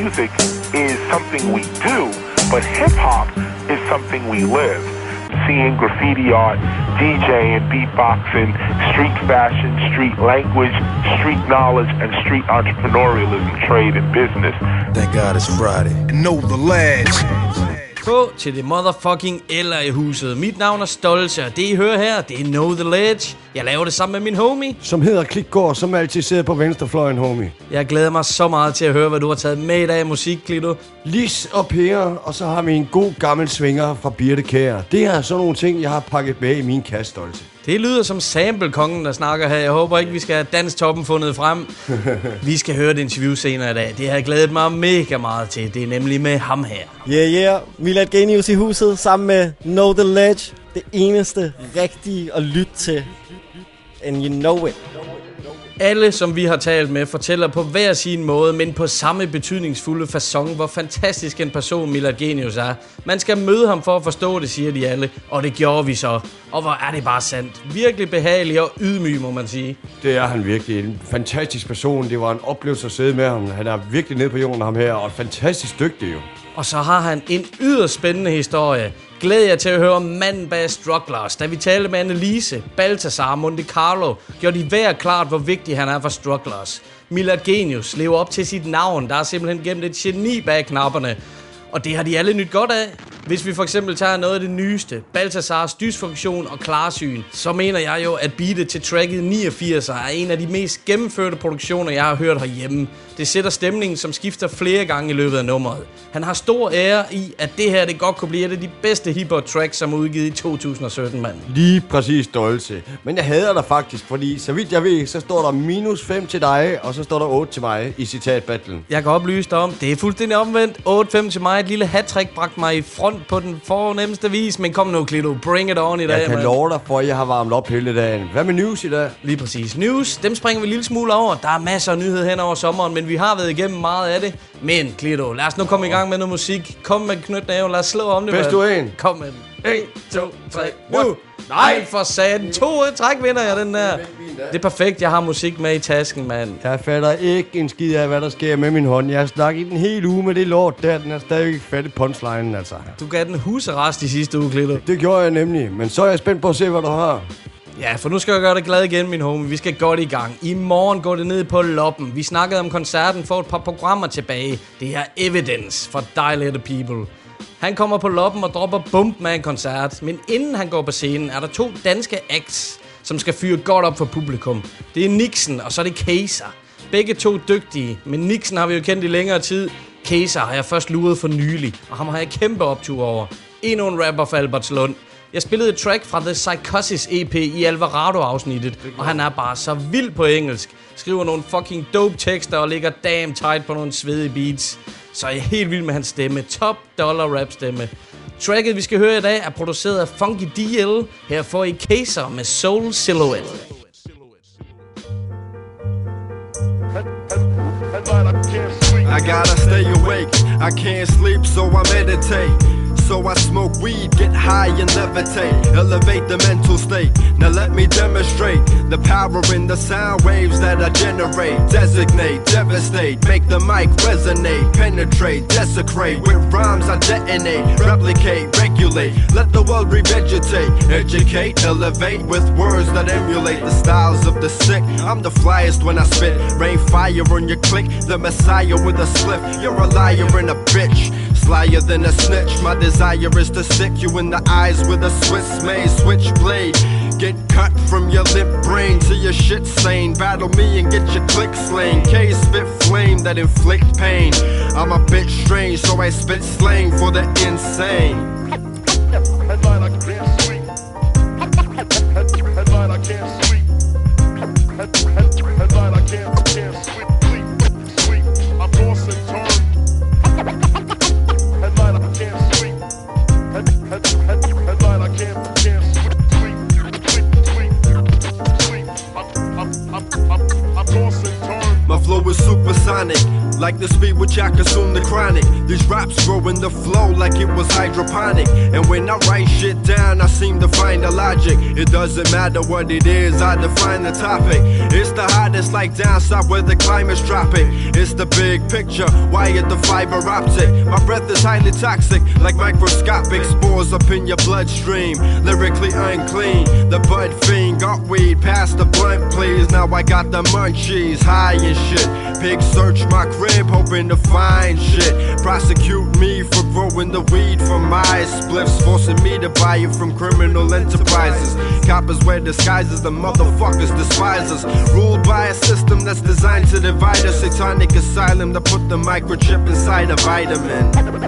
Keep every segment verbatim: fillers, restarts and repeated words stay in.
music is something we do, but hip-hop is something we live. Seeing graffiti art, DJing, beatboxing, street fashion, street language, street knowledge, and street entrepreneurialism, trade, and business. Thank God it's Friday. And know the lads. Gå til det motherfucking eller i huset. Mit navn er Stolze, og det I hører her, det er Know The Ledge. Jeg laver det sammen med min homie, som hedder Klikgaard, som altid sidder på venstrefløjen, homie. Jeg glæder mig så meget til at høre, hvad du har taget med i dag af musik, Klito. Lis og pære, og så har vi en god gammel svinger fra Birte Kjær. Det er sådan nogle ting, jeg har pakket med i min kasse, Stolze. Det lyder som sample-kongen, der snakker her. Jeg håber ikke, vi skal have danstoppen fundet frem. Vi skal høre et interview senere i dag. Det har jeg glædet mig mega meget til. Det er nemlig med ham her. Yeah, yeah. Milad Genius i huset sammen med Know The Ledge. Det eneste rigtige at lytte til. And you know it. Alle, som vi har talt med, fortæller på hver sin måde, men på samme betydningsfulde facon, hvor fantastisk en person Milad Genius er. Man skal møde ham for at forstå det, siger de alle, og det gjorde vi så. Og hvor er det bare sandt. Virkelig behagelig og ydmyg, må man sige. Det er han virkelig. En fantastisk person. Det var en oplevelse at sidde med ham. Han er virkelig nede på jorden, ham her, og fantastisk dygtig jo. Og så har han en yderst spændende historie. Glæder jeg til at høre manden bag Strugglers. Da vi talte med Annelise, Balthazar og Monte Carlo, gjorde de hver klart, hvor vigtig han er for Strugglers. Milad Genius lever op til sit navn. Der er simpelthen gemt et geni bag knapperne. Og det har de alle nyt godt af. Hvis vi for eksempel tager noget af det nyeste, Balthazars dysfunktion og klarsyn, så mener jeg jo, at beatet til tracket niogfirs er en af de mest gennemførte produktioner, jeg har hørt herhjemme. Det sætter stemningen, som skifter flere gange i løbet af nummeret. Han har stor ære i, at det her det godt kunne blive et af de bedste hiphop tracks, som er udgivet i to tusind og sytten, mand. Lige præcis, Stolze. Men jeg hader dig faktisk, fordi så vidt jeg ved, så står der minus fem til dig, og så står der otte til mig i citatbattlen. Jeg kan oplyse dig om, det er fuldstændig omvendt. otte fem til mig. Et lille hat-trick bragte mig i front på den fornemmeste vis. Men kom nu, Klito. Bring it on i dag, Jeg kan man. love dig for, at jeg har varmet op hele dagen. Hvad med news i dag? Lige præcis. News, dem springer vi en lille smule over. Der er masser af nyheder hen over sommeren, men vi har været igennem meget af det. Men, Klito, lad os nu komme i gang med noget musik. Kom med knytnæven, lad os slå om det. Bedst du en. Kom med den. en, to, tre, nu! Nej, for satan. To træk vinder jeg den der. Det er perfekt, jeg har musik med i tasken, mand. Jeg fatter ikke en skid af, hvad der sker med min hånd. Jeg har snakket i den hele uge med det lort der. Den er stadig ikke fat i punchlinen, altså. Du gav den husarrest i sidste uge, Klito. Det gjorde jeg nemlig, men så er jeg spændt på at se, hvad du har. Ja, for nu skal jeg gøre dig glad igen, min homie. Vi skal godt i gang. I morgen går det ned på Loppen. Vi snakkede om koncerten for et par programmer tilbage. Det er Evidence for Dilated People. Han kommer på Loppen og dropper Bumpman-koncert. Men inden han går på scenen, er der to danske acts, som skal fyre godt op for publikum. Det er Nixon, og så er det Kayser. Begge to dygtige, men Nixon har vi jo kendt i længere tid. Kayser har jeg først luret for nylig, og ham har jeg kæmpe optur over. Endnu en rapper for Albertslund. Jeg spillede et track fra The Psychosis E P i Alvarado-afsnittet, og han er bare så vild på engelsk. Skriver nogle fucking dope tekster og ligger damn tight på nogle svedige beats. Så jeg er helt vild med hans stemme. Top dollar rap stemme. Tracket vi skal høre i dag er produceret af Funky D L. Her får I Kayser med Soul Silhouette. I gotta stay awake, I can't sleep so I meditate. So I smoke weed, get high and levitate, elevate the mental state. Now let me demonstrate the power in the sound waves that I generate. Designate, devastate, make the mic resonate, penetrate, desecrate. With rhymes I detonate, replicate, regulate. Let the world revegetate, educate, elevate with words that emulate the styles of the sick. I'm the flyest when I spit, rain fire on your click. The messiah with a slip, you're a liar and a bitch. Slyer than a snitch, my desire is to stick you in the eyes with a Swiss made switchblade. Get cut from your lip brain to your shit stain. Battle me and get your click slain. K spit flame that inflict pain. I'm a bit strange, so I spit slang for the insane. Headline I can't sleep. Headline I can't sleep. Headline I can't can't sleep. Sleep. I toss and turn. Headline I can't sleep. Headline I can't can't sleep. Sleep. Sleep. Sleep. I I I I toss and turn. My flow is supersonic. like the speed which I consume the chronic. These raps grow in the flow like it was hydroponic. And when I write shit down, I seem to find the logic. It doesn't matter what it is, I define the topic. It's the hottest like down south where the climate's dropping. It's the big picture, wired the fiber optic. My breath is highly toxic, like microscopic spores up in your bloodstream. Lyrically unclean, the bud fiend got weed past the blunt, please. Now I got the munchies, high and shit. Pigs search my crib, hoping to find shit. Prosecute me for growing the weed from my spliffs, forcing me to buy it from criminal enterprises. Coppers wear disguises, the motherfuckers despise us. Ruled by a system that's designed to divide us. Satanic asylum to put the microchip inside a vitamin.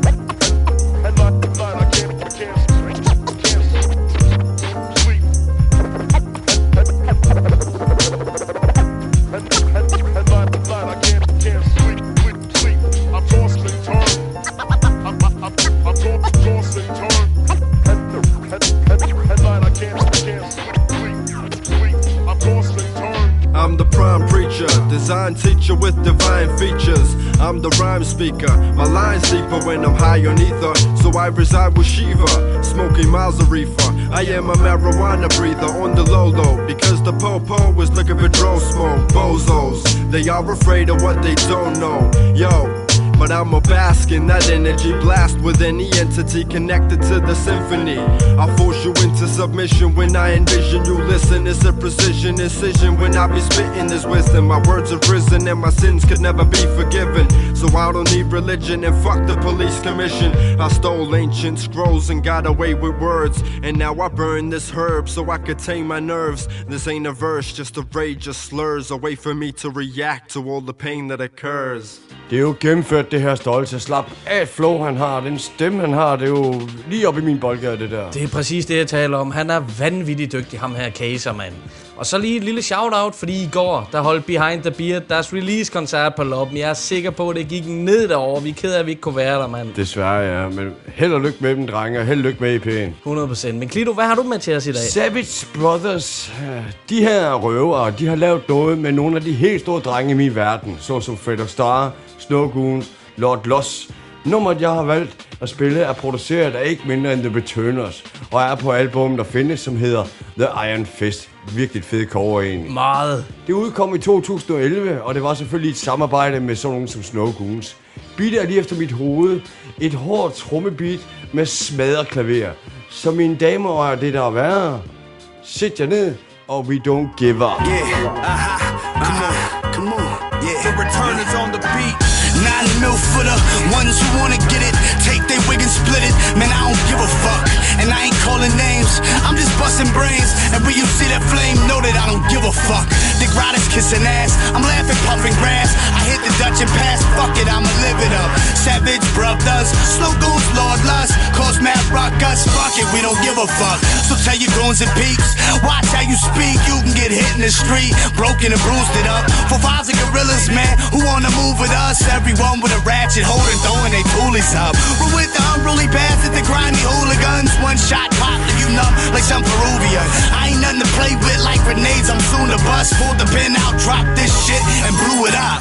I'm the prime preacher, design teacher with divine features. I'm the rhyme speaker, my line's deeper when I'm high on ether. So I reside with Shiva, smoking miles of reefer. I am a marijuana breather on the low low, because the po-po was looking for drone smoke. Bozos, they are afraid of what they don't know. Yo, but I'm a bask in that energy blast with any entity connected to the symphony. I force you into submission when I envision you listen. It's a precision incision when I be spitting this wisdom. My words have risen and my sins could never be forgiven. So I don't need religion and fuck the police commission. I stole ancient scrolls and got away with words, and now I burn this herb so I could tame my nerves. This ain't a verse, just a rage of slurs, a way for me to react to all the pain that occurs. Det er jo gennemført, det her Stolte. Slap af, flow han har, den stemme han har, det er jo lige op i min boldgade, det der. Det er præcis det, jeg taler om. Han er vanvittigt dygtig, ham her Kaiser, mand. Og så lige et lille shout-out, fordi i går, der holdt Behind the Beard deres release-koncert på Loppen. Jeg er sikker på, at det gik ned derovre. Vi er ked af, at vi ikke kunne være der, mand. Desværre, ja. Men held og lykke med dem, drenge, og held og lykke med E P'en. hundrede procent. Men Klito, hvad har du med til os i dag? Savage Brothers, de her røvere, de har lavet noget med nogle af de helt store drenge i min verden. Såsom Fred Star, Snow Goons, Lord Loss. Nummeret, jeg har valgt at spille, er produceret af ikke mindre end The Returners, og er på album, der findes, som hedder The Iron Fist. Virkelig fed cover egentlig. Meget. Det udkom i to tusind og elleve, og det var selvfølgelig et samarbejde med sådan nogen som Snow Goons. Beatet er lige efter mit hoved. Et hårdt trommebeat med smadret klaver. Så mine damer og det der er værre, sæt jer ned, og we don't give up. Yeah, aha, come on, come on, yeah. The Returners on the beat. Nine mil for the ones who wanna get it. Take their wig and split it. Man, I don't give a fuck. And I ain't calling names, I'm just busting brains. And when you see that flame, know that I don't give a fuck. The crowd is kissing ass, I'm laughing, pumping grass. I hit the Dutch and pass, fuck it, I'ma live it up. Savage brothers, slow goons, Lord Lust. Cause mad rock us, fuck it, we don't give a fuck. So tell your goons and peeps, watch how you speak. You can get hit in the street, broken and bruised it up. For fives and gorillas, man, who wanna move with us? Everyone with a ratchet holding, throwing they toolies up. We're with the unruly bastards, the grimy hooligans. One shot pop, leave you numb like some Peruvian. I ain't nothing to play with like grenades, I'm soon to bust. Pulled the pin out, dropped this shit and blew it up.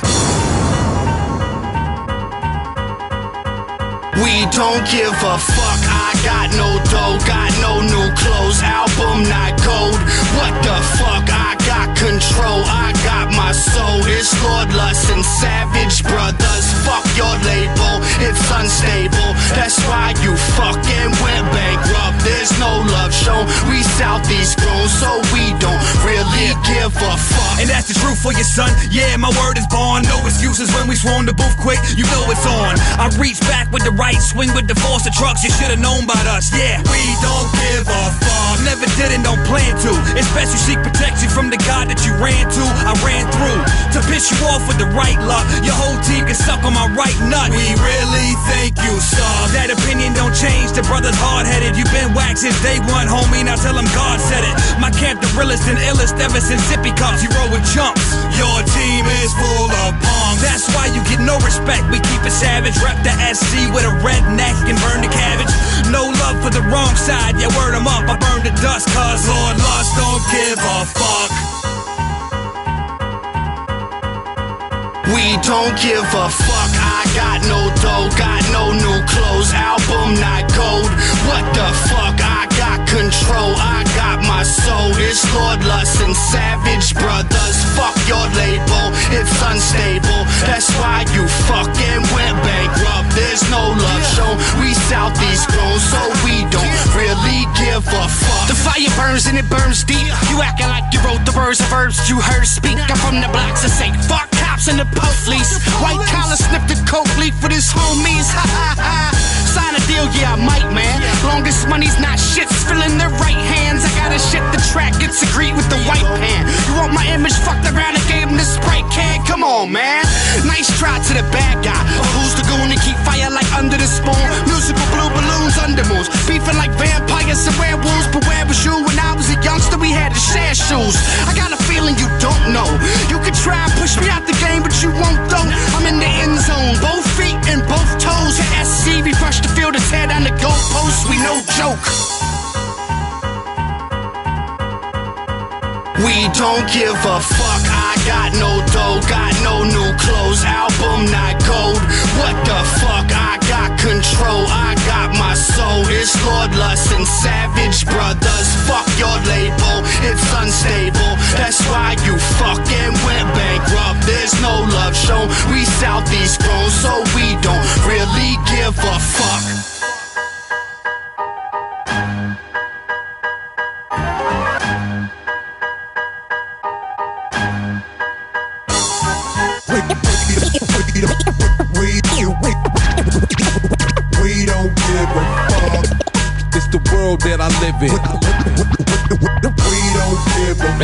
We don't give a fuck, I got no dough, got no new clothes, album not gold. What the fuck, I got control, I got my soul. It's Lord Lust and Savage Brothers, fuck your label, it's unstable. That's why you fucking went bankrupt, there's no love shown. We Southeast grown, so we don't really give a fuck. And that's the truth for your son, yeah, my word is born. No excuses when we swarm the booth quick, you know it's on. I reach back with the right swing with the force of trucks, you should've known about us, yeah. We don't give a fuck, never did and don't plan to. It's best you seek protection from the God that you ran to, I ran through. To piss you off with the right luck, your whole team can suck on my right nut. We really think you suck. That opinion don't change, the brother's hard-headed. You been whacked since day one, homie, now tell him God said it. My camp the realest and illest ever since sippy cups, you roll with chumps. Your team is full of punks. That's why you get no respect, we keep it savage. Rep the S C with a redneck and burn the cabbage. No love for the wrong side, yeah, word them up, I burn the dust. Cause Lord Lust don't give a fuck. We don't give a fuck, got no dough, got no new clothes, album not gold. What the fuck? I got control, I got my soul. It's Lord Lust and Savage Brothers. Fuck your label, it's unstable. That's why you fucking went bankrupt. There's no love shown. We Southeast grown, so we don't really give a fuck. The fire burns and it burns deep. You acting like you wrote the words of verbs you heard speak. I'm from the blocks that say fuck cops and the police. White collar sniff the coke leaf with his homies. Ha ha ha. Sign a deal, yeah I might, man. Longest money's not shit, still in their right hands. I gotta shit the track, gets agreed with the white pan. You want my image fucked around and gave him the Sprite can? Come on, man. Nice try to the bad guy. But who's the goon to keep fire like under the spoon? Musical blue balloons, under moons. Beefing like vampires and werewolves. But where was you when I was a youngster? We had to share shoes. I got a feeling you don't know. You could try and push me out the game, but you won't though. I'm in the end zone, both feet and both toes. At S C, we rush the field to tear down the goalposts. We no joke. We don't give a fuck. I got no dough, got no new clothes, album not gold. What the fuck? I got control, I got my soul. It's Lord Lust and Savage Brothers. Fuck your label, it's unstable. That's why you fucking went bankrupt. There's no love shown. We Southeast grown, so we don't really give a fuck. We don't give a fuck. It's the world that I live in. We don't give a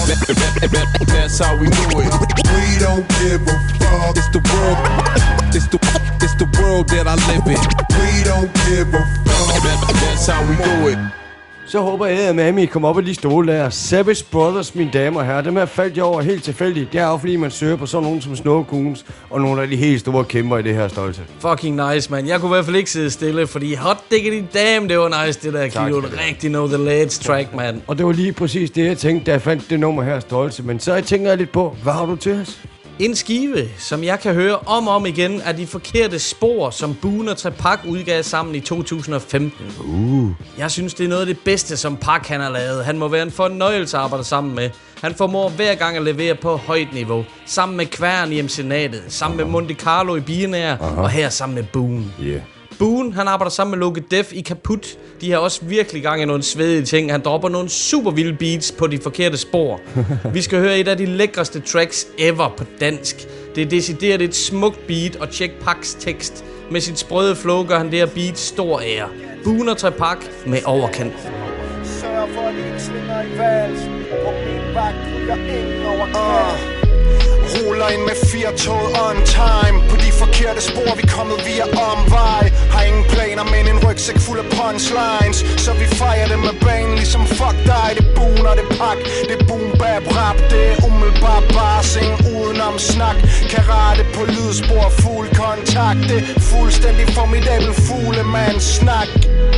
fuck. That's how we do it. We don't give a fuck. It's the world. It's the it's the world that I live in. We don't give a fuck. That's how we do it. Så håber jeg, at Mami kommer op af de stole der. Savage Brothers, mine damer og herrer. Dem her faldt jeg over helt tilfældigt. Det er jo fordi, man søger på sådan nogen som Snow Goons og nogle af de helt store kæmper i det her størrelse. Fucking nice, man. Jeg kunne i hvert fald ikke sidde stille, fordi hot diggity damn, det var nice, det der Kilo. Rigtig know the ledge track, man. Og det var lige præcis det, jeg tænkte, da jeg fandt det nummer her størrelse. Men så jeg tænker jeg lidt på, hvad har du til os? En skive, som jeg kan høre om og om igen, er De Forkerte Spor, som Boone og Trepak udgav sammen i to tusind og femten. Uh. Jeg synes, det er noget af det bedste, som Pak han har lavet. Han må være en fornøjelse at arbejde sammen med. Han formår hver gang at levere på højt niveau. Sammen med Kværn i M C Natet, sammen med Monte Carlo i Billionaire, og her sammen med Boone. Yeah. Boone, han arbejder sammen med Loke Def i Kaput. De har også virkelig gang i nogle svedige ting. Han dropper nogle super vilde beats på De Forkerte Spor. Vi skal høre et af de lækreste tracks ever på dansk. Det er decideret et smukt beat, og tjek Paks tekst. Med sit sprøde flow gør han det her beat stor ære. Boone og Trepak med Overkant. Sørg for, at de slinger i valsen. På min vagt ryger ingen over kant. Ruller ind med firetoget on time. På de forkerte spor, vi kommet via omvej. Har ingen planer, men en rygsæk fuld af punchlines. Så vi fejrer det med banen, ligesom fuck dig. Det er Boone og det er Pak. Det er boom bap rap. Det er umiddelbar barsing udenom snak. Karate på lydspor, fuld kontakt. Det er fuldstændig formidabel fuglemands snak.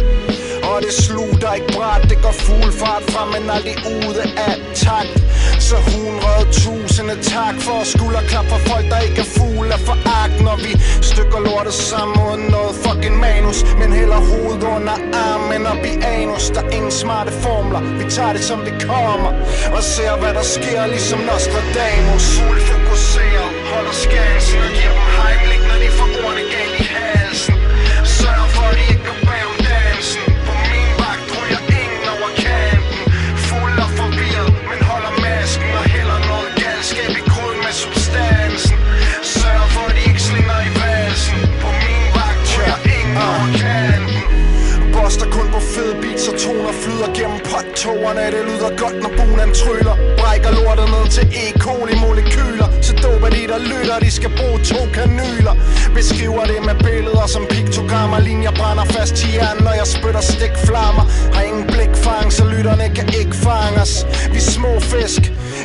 Og det slutter ikke bræt, det går fuld fart frem, men aldrig ude af takt. Så hundrede tusinde tak for skulderklap for folk, der ikke er fugle af foragt. Når vi stykker lortet sammen uden noget fucking manus, men hælder hovedet under armen op i anus. Der er ingen smarte formler, vi tager det som det kommer, og ser hvad der sker ligesom Nostradamus. Fugle fokuserer, holder skansen og giver dem heimlich, når de får ordene galt i halsen. Sørg for at de ikke går bag om dansen. På min vagt ryger ingen over kanten. Fuld og forvirret, men holder masken og hælder noget galskab i gryden med substansen. Sørg for at de ikke slinger i valsen. På min vagt ryger ingen over kanten. Boster kun på fede beats og toner flyder gennem pottogerne. Det lyder godt når Boone tryller. Brækker lortet ned til E. coli molekyler. Så doper de der lytter, de skal bruge to kanyler. Beskriver det med billeder som piktogrammer. Linjer brænder fast i hjernen, når jeg spytter stikflammer. Har ingen blikfang, så lytterne kan ikke fange os. Vi små fisk, ikke big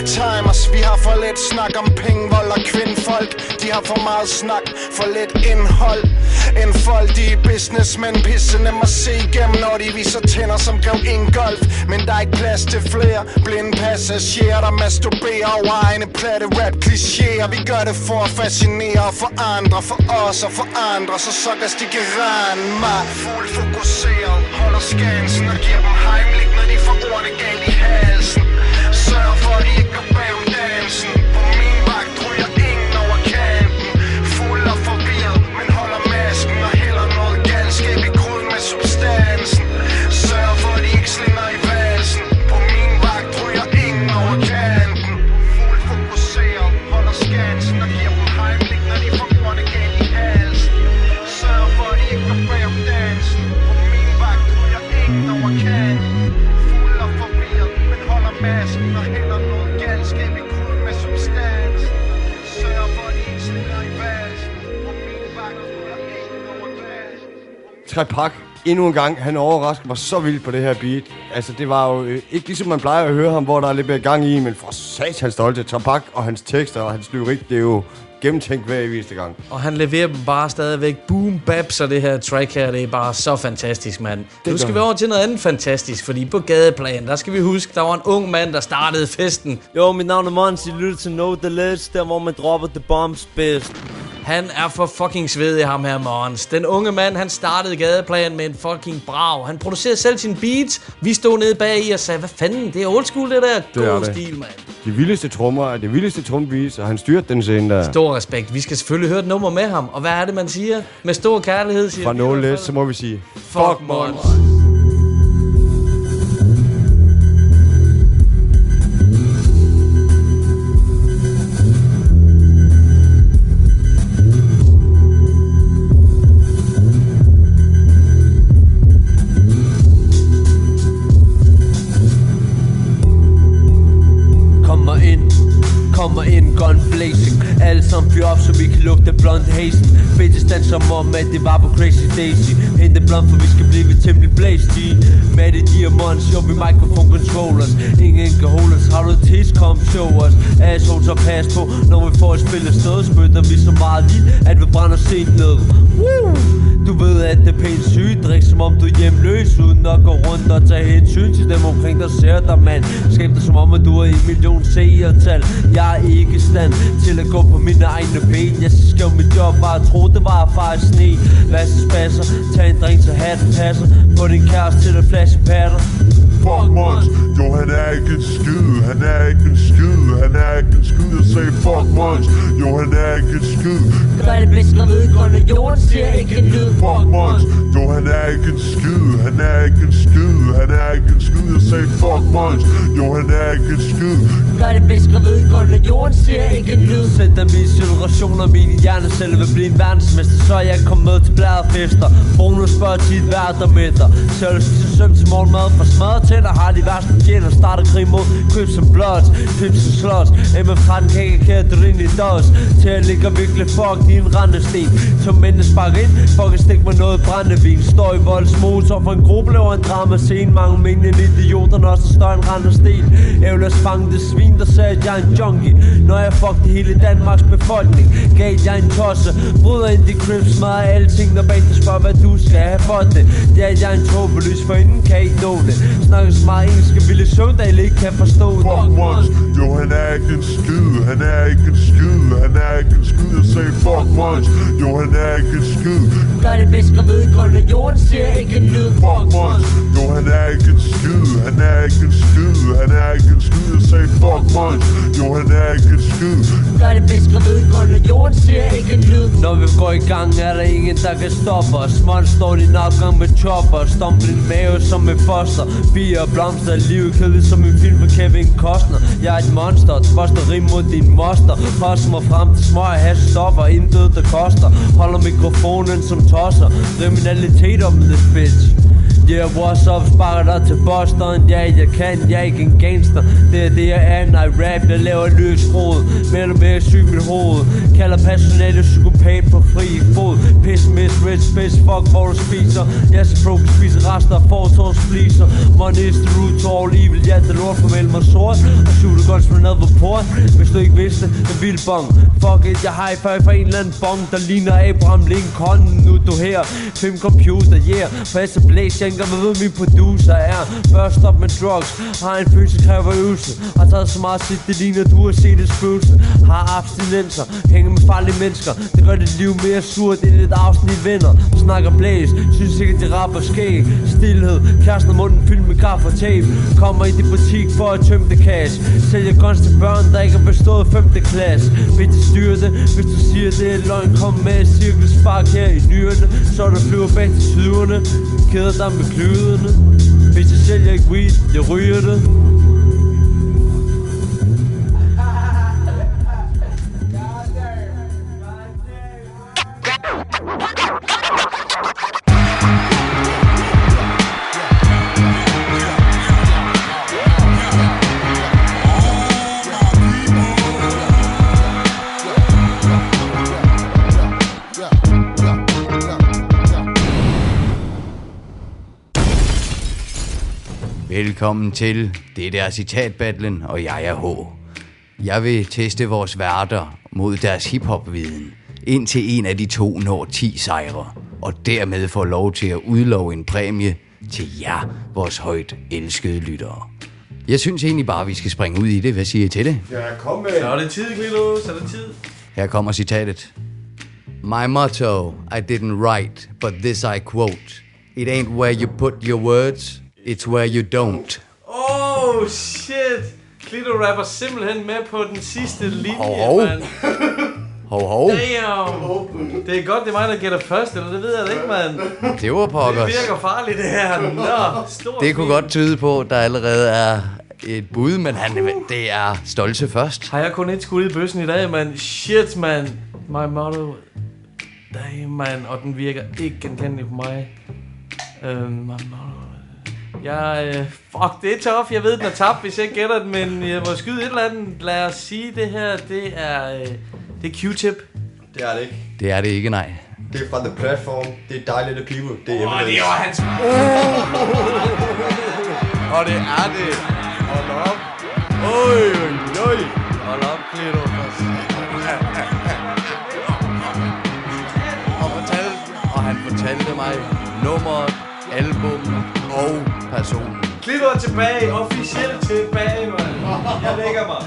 timers. Vi har for lidt snak om penge, vold og kvindfolk. De har for meget snak, for lidt indhold. Enfoldige businessmen, pisse nem at se igennem, når de viser tænder som Grev Ingolf. Men der er ikke plads til flere blinde passagerer, der masturberer over egne platte rap klichéer. Vi gør det for at fascinere og forandre, for os og for andre, så sukkers de kan rende mig. Fuld fokuseret, holder skansen og giver dem heimlich, når de får ordene galt i halsen. Sørg for at de ikke går bag om dansen. På min vagt ryger ingen over kanten. Fuld og forvirret, men holder masken og hælder noget galskab i gryden med substansen. Sørg for at de ikke slinger i valsen. På min vagt ryger ingen over kanten. Fuld fokuseret, holder skansen og giver dem heimlich, når de får ordene galt i halsen. Sørg for at de ikke går bag om dansen. På min vagt ryger ingen over kanten. Fuld og forvirret, men holder masken og hælder noget galskab i gryden med substans. Sørg for at de ikke slinger i valsen. På min vagt ryger ingen over kanten. Trepak, endnu en gang, han overraskede mig så vildt på det her beat. Altså, det var jo øh, ikke ligesom man plejer at høre ham, hvor der er lidt mere gang i, men for sats hans stolte. Trepak og hans tekster og hans lyrik, det er jo gennemtænkt hver eneste gang. Og han leverer dem bare stadigvæk boom bap, så det her track her, det er bare så fantastisk, mand. Nu skal vi over til noget andet fantastisk, fordi på Gadeplan, der skal vi huske, der var en ung mand, der startede festen. Jo, mit navn er Mons, I lytter til Know The Ledge, der hvor man dropper the bombs bedst. Han er for fucking svedig, ham her Mons. Den unge mand, han startede Gadeplan med en fucking brav. Han producerede selv sine beats. Vi stod nede bag i og sagde, hvad fanden, det er old school, det der. God stil, mand. De vildeste trommer er det vildeste trombeats, og han styrte den scene der. Stor respekt. Vi skal selvfølgelig høre et nummer med ham. Og hvad er det, man siger? Med stor kærlighed, siger Fra Know The Ledge, så må vi sige, fuck Mons. Kommer ind, gun blazing. Alle sammen fyr op, så vi kan lugte blond hazen. Bitches danser som om, at det var på Crazy Daisy. Hente blond, for vi skal blive temmelig blæst i. Med det diamonds, jo vi microphone controllers. Ingen kan holde os, har du et tis, kom show os. Assholes og pas på, når vi får et spil af sted. Spytter vi så meget lild, at vi brænder sent ned. Woo! Du ved, at det er pænt sygt. Drik som om du er hjemløs, uden at gå rundt og tage hensyn til dem omkring der ser dig, mand. Skab dig som om, at du er en million seertal. Jeg er ikke i stand til at gå på mine egne ben. Jeg skrev mit job, bare tro det var at fare sne. Vaske spasser, tag en drink så hatten passer. Få din kæreste til at flashe patter. Fuck Mons, jo han er ikke en skid, han er ikke en skid, han er ikke en skid. Jeg sagde fuck Mons, jo han er ikke en skid. Gør det bedst, når vedgående jorden siger ikke en lyd. Fuck Mons, jo han er ikke en skid, han er ikke en skid, han er ikke en skid. Jeg sagde fuck Mons, jo han er ikke en skid. Gør det bedst, når vedgående jorden siger ikke en lyd. Sæt dig mine situationer, mine hjerneceller vil blive en verdensmester. Så jeg kom med til bladfester. Bonus spørger tit hvert der midter. Selv til søm til morgenmad for smadret tænder. Har de værste fjender, starter krig mod Crips and Bloods, Pips and Sluts. M F tretten kan ikke kære drin i dos. Til at ligge virkelig fuck din rendesten. Som mændene sparker ind, fuck stik med noget brændevin. Står i voldsmotor for en gruppe laver en drama scene. Mange mængden idioter, når så står en rendesten. Ævlers fange det svin, der sagde at jeg er en junkie. Når jeg fuck det hele Danmarks befolkning. Gav jeg en tosse, bryder ind i Crips, smadrer alting. Når bag spørger hvad du skal have for det. Det er jeg en tåbelys, for inden kan I ikke nå det. Snakker så meget engelsk, at Ville Søvndal ikke kan forstå det. Fuck Mons, jo han er ikke en skid, han er ikke en skid, han er ikke en skid. Jeg sagde fuck Mons, jo han er ikke en skid. Gør det bedst, når vedgående jorden siger ikke en lyd. Fuck Mons, jo han er ikke en skid, han er ikke en skid, han er ikke en skid. Jeg sagde fuck Mons, jo han er ikke en skid. Gør det bedst, når vedgående jorden siger ikke en lyd. Når vi går i gang, er der ingen der kan stoppe os. Mons står din opgang med chopper. Stomp din mave som et foster. Bier og blomster, livet kedeligt som en film for Kevin Costner. Jeg er et monster, tvoster rim mod din moster. Poster mig frem til smøg hash stoffer, intet der koster. Holder mikrofonen som tosser. Kriminalitet om this bitch. Yeah, what's up, sparker dig til Boston. Ja, jeg kan, jeg er ikke en gangster. Det er det, jeg er, når jeg rap. Jeg laver løs rod, mere eller mere syg mit hoved. Kalder personale psykopat på fri fod. Pessimist, rich bitch, fuck hvor du spiser. Jeg så broke spiser rester af fortårs fliser. Money is the root to all evil. Ja, det lort for mellem mig sort. Og shooter guns med noget på port. Hvis du ikke vidste, en vild bong. Fuck it, jeg high five for en eller anden bong, der ligner Abraham Lincoln. Nu er du her, fem computer, yeah. Passer blæs, jeg ikke ved, min producer er. Først stop med drugs, har en følelse, kræver øvelse. Har taget så meget sit, det ligner, du har set et spøgelse. Har abstinenser, hænger med farlige mennesker. Det gør dit liv mere surt, end et afsnit venner. Snakker blæs, synes ikke, de rapper skæg. Stilhed, kæresten af munden fyldt med kaffe og tape. Kommer i din butik for at tømme det cash. Sælger guns til børn, der ikke har bestået femte klasse. Vil de styre det, hvis du siger det er løgn. Kom med et cirkelspark her i nyrene, så der flyver bag til syderne. Kæder dig med klyderne. Hvis jeg sælger ikke weed, jeg ryger det. Velkommen til det der citatbattlen, og jeg er H. Jeg vil teste vores værter mod deres hiphop-viden, indtil en af de to når ti sejre, og dermed får lov til at udlove en præmie til jer, vores højt elskede lyttere. Jeg synes egentlig bare, vi skal springe ud i det. Hvad siger I til det? Ja, kom med. Så er det tid, Klito. Så er det tid. Her kommer citatet. My motto, I didn't write, but this I quote. It ain't where you put your words, it's where you don't. Oh shit! Klito rapper simpelthen med på den sidste linje, hov, hov. mand. Hov, hov. Damn! Det er godt, det er mig, der gætter først, eller det ved jeg da ikke, mand. Det var pokkers. Det virker farligt, det her. Nå, stor Det kunne godt tyde på, at der allerede er et bud, men han, det er Stolse først. Har jeg kun et skud i bøssen i dag, mand? Shit, mand. My motto. Damn, mand. Og den virker ikke genkendelig på mig. Uh, my motto. Jeg, uh, fuck, det er tough. Jeg ved, den er tabt, hvis jeg ikke gætter den, men jeg må skyde et eller andet. Lad os sige, det her, det er, uh, det er Q-tip. Det er det ikke. Det er det ikke, nej. Det er fra The Platform. Det er Dejligt at People. Det er Åh, oh, det var hans... Oh! Og det er det. Hold op. Oj, oj, oj. Hold op, Klito. Og, fortalte, og han fortalte mig nummeret, album og personen. Klito er tilbage. Officielt tilbage, mand. Jeg lægger mig.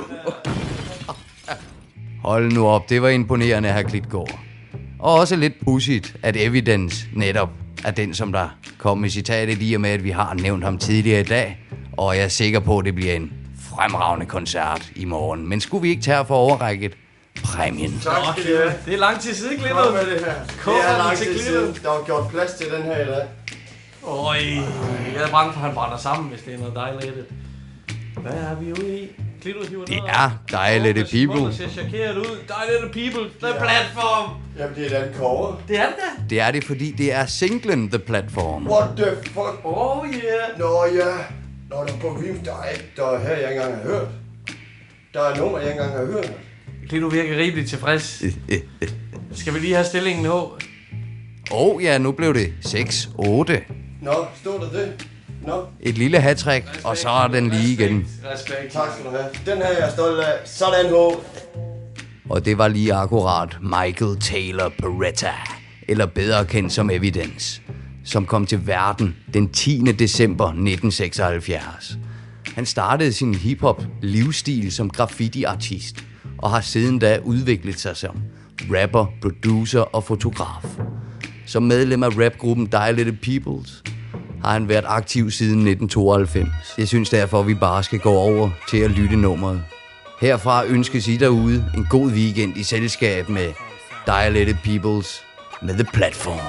Hold nu op, det var imponerende, herr Klitgaard. Og også lidt pudsigt, at Evidence netop er den, som der kom med citatet i og med, at vi har nævnt ham tidligere i dag. Og jeg er sikker på, at det bliver en fremragende koncert i morgen. Men skulle vi ikke tage for overrækket præmien? Tak skal du have. Det er lang tid siden, Klito. Kom med det her. Det er lang tid siden. Der var gjort plads til den her i dag. Øj, jeg er bange for, at han brænder sammen, hvis det er noget dejligt. Hvad er vi ude i? Klito hiver Det er Dejligt at People. Det ser chokeret ud. Dejligt at People. The Platform. Jamen, det er den cover. Det er det da. Det er det, fordi det er singlen The Platform. What the fuck? Oh yeah. Nå ja. Nå, der er på Vim, der er ikke, der er her, jeg ikke engang har hørt. Der er nummer, jeg ikke engang har hørt. Klito virker rimeligt tilfreds. Skal vi lige have stillingen nu? Åh oh, ja, nu blev det seks otte. Nå, stod der det? Nå. Et lille hattrick, og så er den lige igen. Respekt. Tak skal du have. Den her jeg er stolt af. Sådan, H. Og det var lige akkurat Michael Taylor Peretta, eller bedre kendt som Evidence, som kom til verden den tiende december nitten seksoghalvfjerds. Han startede sin hiphop livsstil som graffiti-artist, og har siden da udviklet sig som rapper, producer og fotograf. Som medlem af rapgruppen Dejligt at Peoples har han været aktiv siden nitten tooghalvfems. Jeg synes derfor, at vi bare skal gå over til at lytte nummeret. Herfra ønskes I derude en god weekend i selskab med Dejligt at Peoples med The Platform.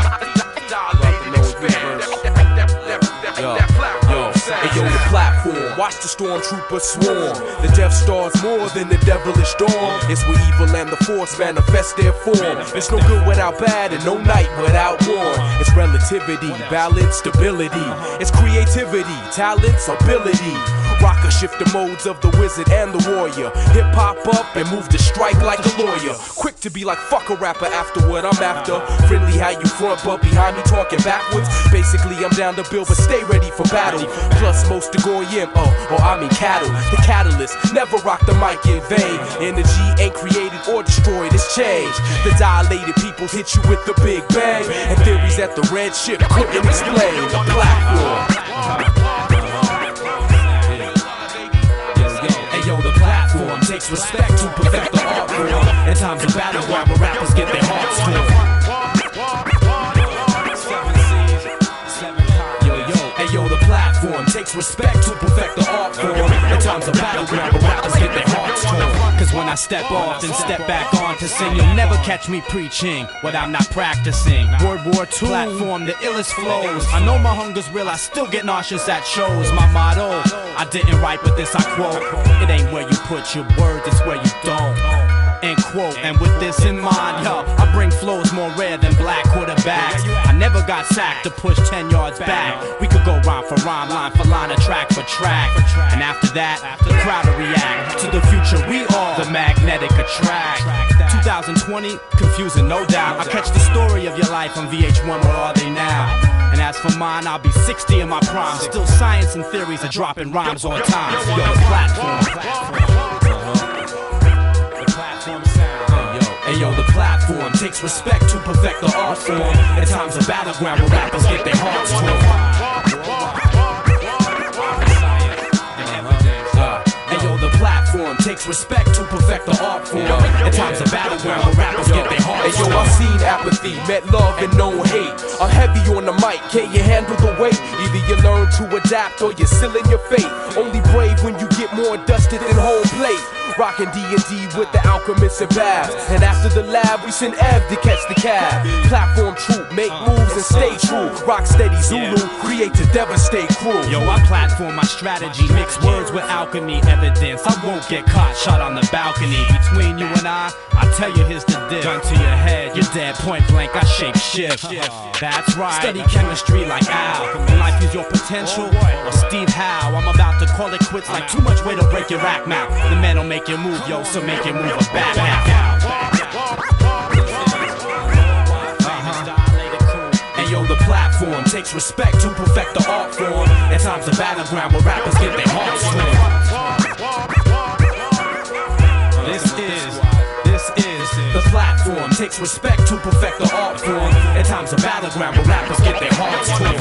Yo, yo, hey yo, the platform, watch the stormtroopers swarm. The Death Star's more than the devilish dawn. It's where evil and the Force manifest their form. It's no good without bad and no night without war. It's relativity, balance, stability. It's creativity, talents, ability. Rocker shift the modes of the wizard and the warrior. Hip hop up and move to strike like a lawyer. Quick to be like fuck a rapper after what I'm after. Friendly how you front but behind me talking backwards. Basically I'm down to build but stay ready for battle. Plus most to go in, oh, oh I mean cattle. The catalyst, never rock the mic in vain. Energy ain't created or destroyed, it's changed. The dilated people hit you with the big bang. And theories that the red ship couldn't explain. The platform. Takes respect to perfect the art form. In times of battleground where rappers get their hearts torn. Yo, yo, hey yo, the platform takes respect to perfect the art form. In times of battleground where rappers get their hearts torn. Cause when I step off and step back on to sing, you'll never catch me preaching what I'm not practicing. World War Two platform, the illest flows. I know my hunger's real, I still get nauseous at shows. My motto, I didn't write but this I quote. It ain't where you put your words, it's where you don't. End quote. And with this in mind, yo, I bring flows more rare than black quarterbacks. I never got sacked to push ten yards back. We could go rhyme for rhyme, line for line, or track for track. And after that, the crowd will react to the future we are, the magnetic attract. twenty twenty, confusing no doubt. I catch the story of your life on V H one, where are they now? And as for mine, I'll be sixty in my prime. Still science and theories are dropping rhymes on time. Yo, the platform. Hey yo, the platform takes respect to perfect the art form. In times of battleground where rappers get their hearts torn. Hey yo, the platform takes respect to perfect the art form. In times of battleground where rappers get their hearts torn. Hey yo, I've seen apathy, met love and no hate. I'm heavy on the mic, can you handle the weight? Either you learn to adapt or you're sealing your fate. Only brave when you get more dusted than home plate. Rockin' D and D with the alchemists and babs. And after the lab, we send Ev to catch the cab. Platform troop, make moves and stay true. Rock steady Zulu, create to devastate crew. Yo, I platform my strategy, mix words with alchemy evidence. I won't get caught, shot on the balcony. Between you and I, I tell you here's the diff. Gun to your head, you're dead point blank, I shape shift. That's right, study chemistry like Al. Life is your potential, or Steve Howe. I'm about to call it quits like too much weight to break your rack mouth. The man don't make you move, yo, so make you move a back out. And yo, the platform takes respect to perfect the art form. At times the battleground where rappers get their hearts torn. This is, this is the platform takes respect to perfect the art form. At times the battleground where rappers get their hearts torn.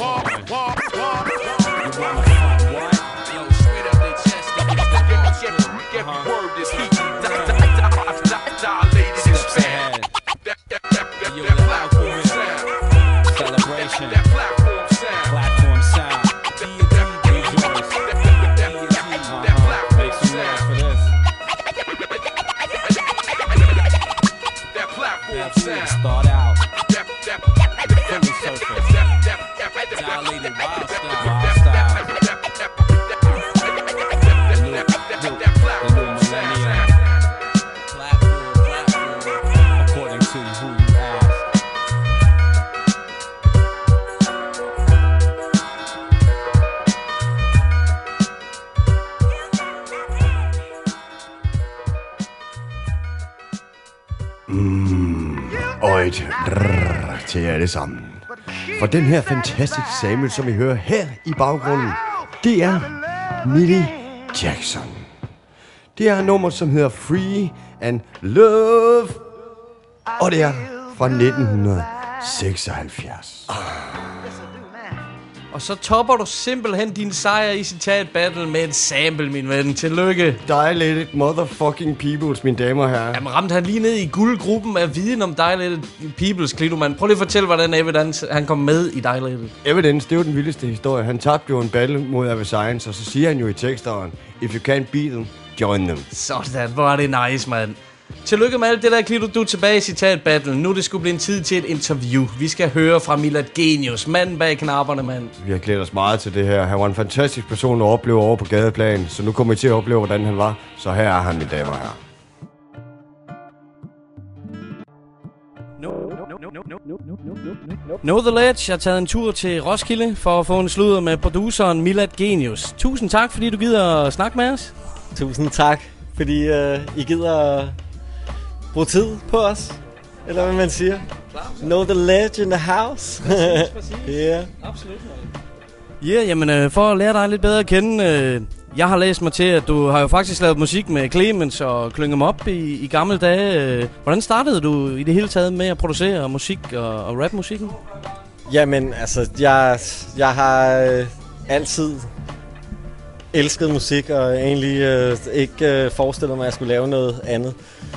Start out, fully surface, dilated wild style, wild style. The new, new, the new millennium. Platform, platform, according to who you ask. Og et drrrr til jer alle sammen. For den her fantastiske sample, som I hører her i baggrunden, det er Millie Jackson. Det er et nummer, som hedder Free and Love. Og det er fra nitten seksoghalvfjerds. Og så topper du simpelthen din sejr i citat battle med et sample, min ven. Tillykke. Dilated motherfucking peoples, mine damer og herrer. Jamen ramte han lige ned i guldgruppen af viden om Dilated Peoples, Klidoman. Prøv lige at fortælle, hvordan Evidence han kom med i Dilated. Evidence, det er jo den vildeste historie. Han tabte jo en battle mod Ava Science, og så siger han jo i teksteren, if you can't beat them, join them. Sådan, hvor er det nice, mand. Tillykke med alt det der, Klito. Du er tilbage i Citat Battle. Nu er det skulle blive en tid til et interview. Vi skal høre fra Milad Genius, manden bag knapperne, mand. Vi har glædet os meget til det her. Han var en fantastisk person at opleve over på gadeplan, så nu kommer I til at opleve, hvordan han var. Så her er han, mine damer og herrer. Know the Ledge har taget en tur til Roskilde for at få en sludder med produceren Milad Genius. Tusind tak, fordi du gider at snakke med os. Tusind tak, fordi uh, I gider bruge tid på os. Eller hvad man siger. Know the Ledge in the house. Præcis, præcis. Yeah. Absolut. Ja, yeah, jamen øh, for at lære dig lidt bedre at kende. Øh, jeg har læst mig til, at du har jo faktisk lavet musik med Clemens og Klynge Em Up i, i gamle dage. Øh, hvordan startede du i det hele taget med at producere musik og, og rapmusikken? Jamen, altså, jeg, jeg har øh, altid elsket musik, og egentlig øh, ikke øh, forestillet mig, at jeg skulle lave noget andet.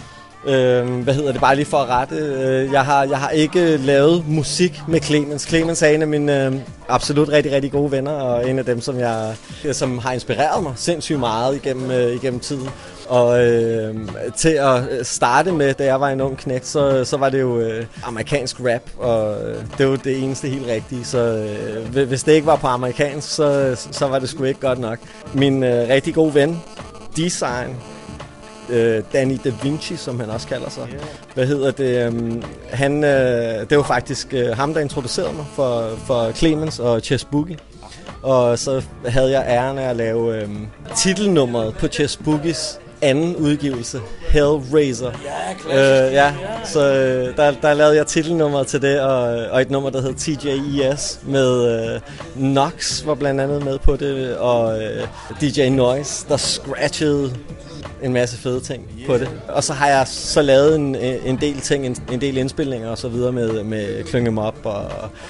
Øh, hvad hedder det, bare lige for at rette. Øh, jeg, har, jeg har ikke lavet musik med Clemens. Clemens er en af mine øh, absolut rigtig, rigtig gode venner, og en af dem, som, jeg, som har inspireret mig sindssygt meget igennem, øh, igennem tiden. Og øh, til at starte med, da jeg var en ung knægt, så, så var det jo øh, amerikansk rap, og øh, det var det eneste helt rigtige. Så øh, hvis det ikke var på amerikansk, så, så var det sgu ikke godt nok. Min øh, rigtig gode ven, Design, øh, Danny Da Vinci, som han også kalder sig. Yeah. Hvad hedder det? Um, han, øh, det var faktisk øh, ham, der introducerede mig for, for Clemens og Chess Boogie. Og så havde jeg æren af at lave øh, titelnummeret på Chess Boogies anden udgivelse, Hellraiser. Ja, øh, ja. Så øh, der, der lavede jeg titelnummeret til det, og, og et nummer, der hed T J E S, med øh, Nox var blandt andet med på det, og øh, D J Noise, der scratchede en masse fede ting yeah. på det. Og så har jeg så lavet en, en del ting, en, en del indspilninger og så videre med, med Klynge Em Up og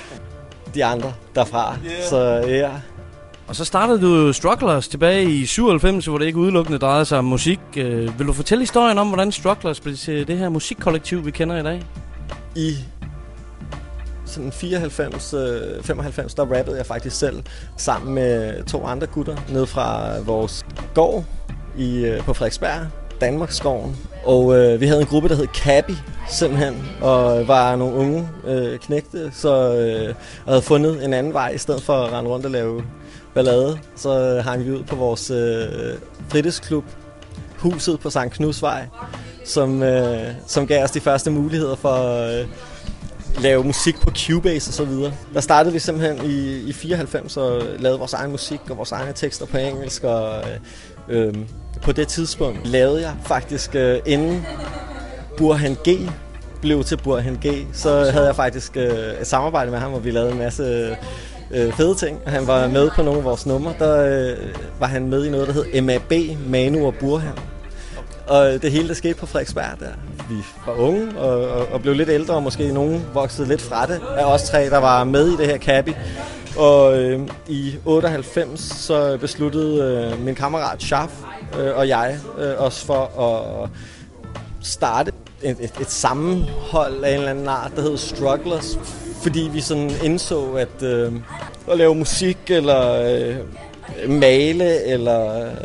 de andre derfra. Yeah. Så ja. Og så startede du Strugglers tilbage i syvoghalvfems, hvor det ikke udelukkende drejede sig om musik. Øh, vil du fortælle historien om, hvordan Strugglers blev til det her musikkollektiv, vi kender i dag? I sådan fireoghalvfems, femoghalvfems, der rappede jeg faktisk selv sammen med to andre gutter ned fra vores gård i, på Frederiksberg, Danmarksskoven. Og øh, vi havde en gruppe, der hed Cabby, simpelthen, og var nogle unge øh, knægte, så øh, havde fundet en anden vej, i stedet for at rende rundt og lave ballade. Så hang vi ud på vores øh, fritidsklub, huset på Sankt Knudsvej, som, øh, som gav os de første muligheder for at øh, lave musik på Cubase og så videre. Der startede vi simpelthen i, i fireoghalvfems og lavede vores egen musik og vores egne tekster på engelsk, og øh, øh, på det tidspunkt lavede jeg faktisk, øh, inden Burhan G blev til Burhan G, så havde jeg faktisk øh, et samarbejde med ham, hvor vi lavede en masse øh, fede ting. Han var med på nogle af vores numre. Der øh, var han med i noget, der hed M A B, Manu og Burhan. Og det hele, der skete på Frederiksberg der. Vi var unge og, og, og blev lidt ældre, og måske nogen voksede lidt fra det af os tre, der var med i det her Cabby. Og øh, i otteoghalvfems så besluttede øh, min kammerat Shaf øh, og jeg øh, os for at starte et, et, et sammenhold af en eller anden art, der hed Strugglers, fordi vi sådan indså, at øh, at lave musik eller øh, male eller øh,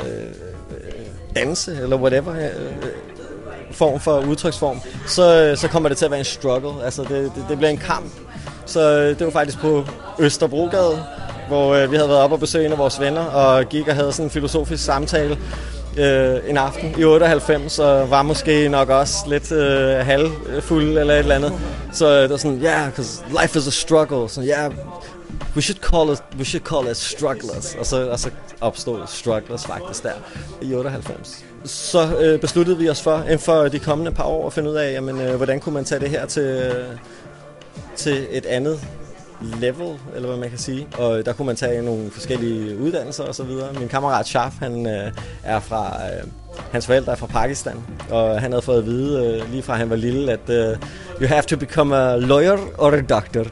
danse eller whatever øh, form for udtryksform, så, så kommer det til at være en struggle. Altså det, det, det bliver en kamp. Så det var faktisk på Østerbrogade, hvor øh, vi havde været oppe og besøge en af vores venner og gik og havde sådan en filosofisk samtale øh, en aften i otteoghalvfems, og var måske nok også lidt øh, halvfuld eller et eller andet. Så det var sådan, yeah, because life is a struggle. Så yeah, we should call it, we should call it strugglers. Og så, og så opstod strugglers faktisk der i otteoghalvfems. Så øh, besluttede vi os for, for de kommende par år at finde ud af, jamen, øh, hvordan kunne man tage det her til, øh, til et andet level, eller hvad man kan sige. Og der kunne man tage nogle forskellige uddannelser og så videre. Min kammerat Shaf, han øh, er fra, øh, hans forældre er fra Pakistan, og han havde fået at vide øh, lige fra han var lille, at øh, you have to become a lawyer or a doctor.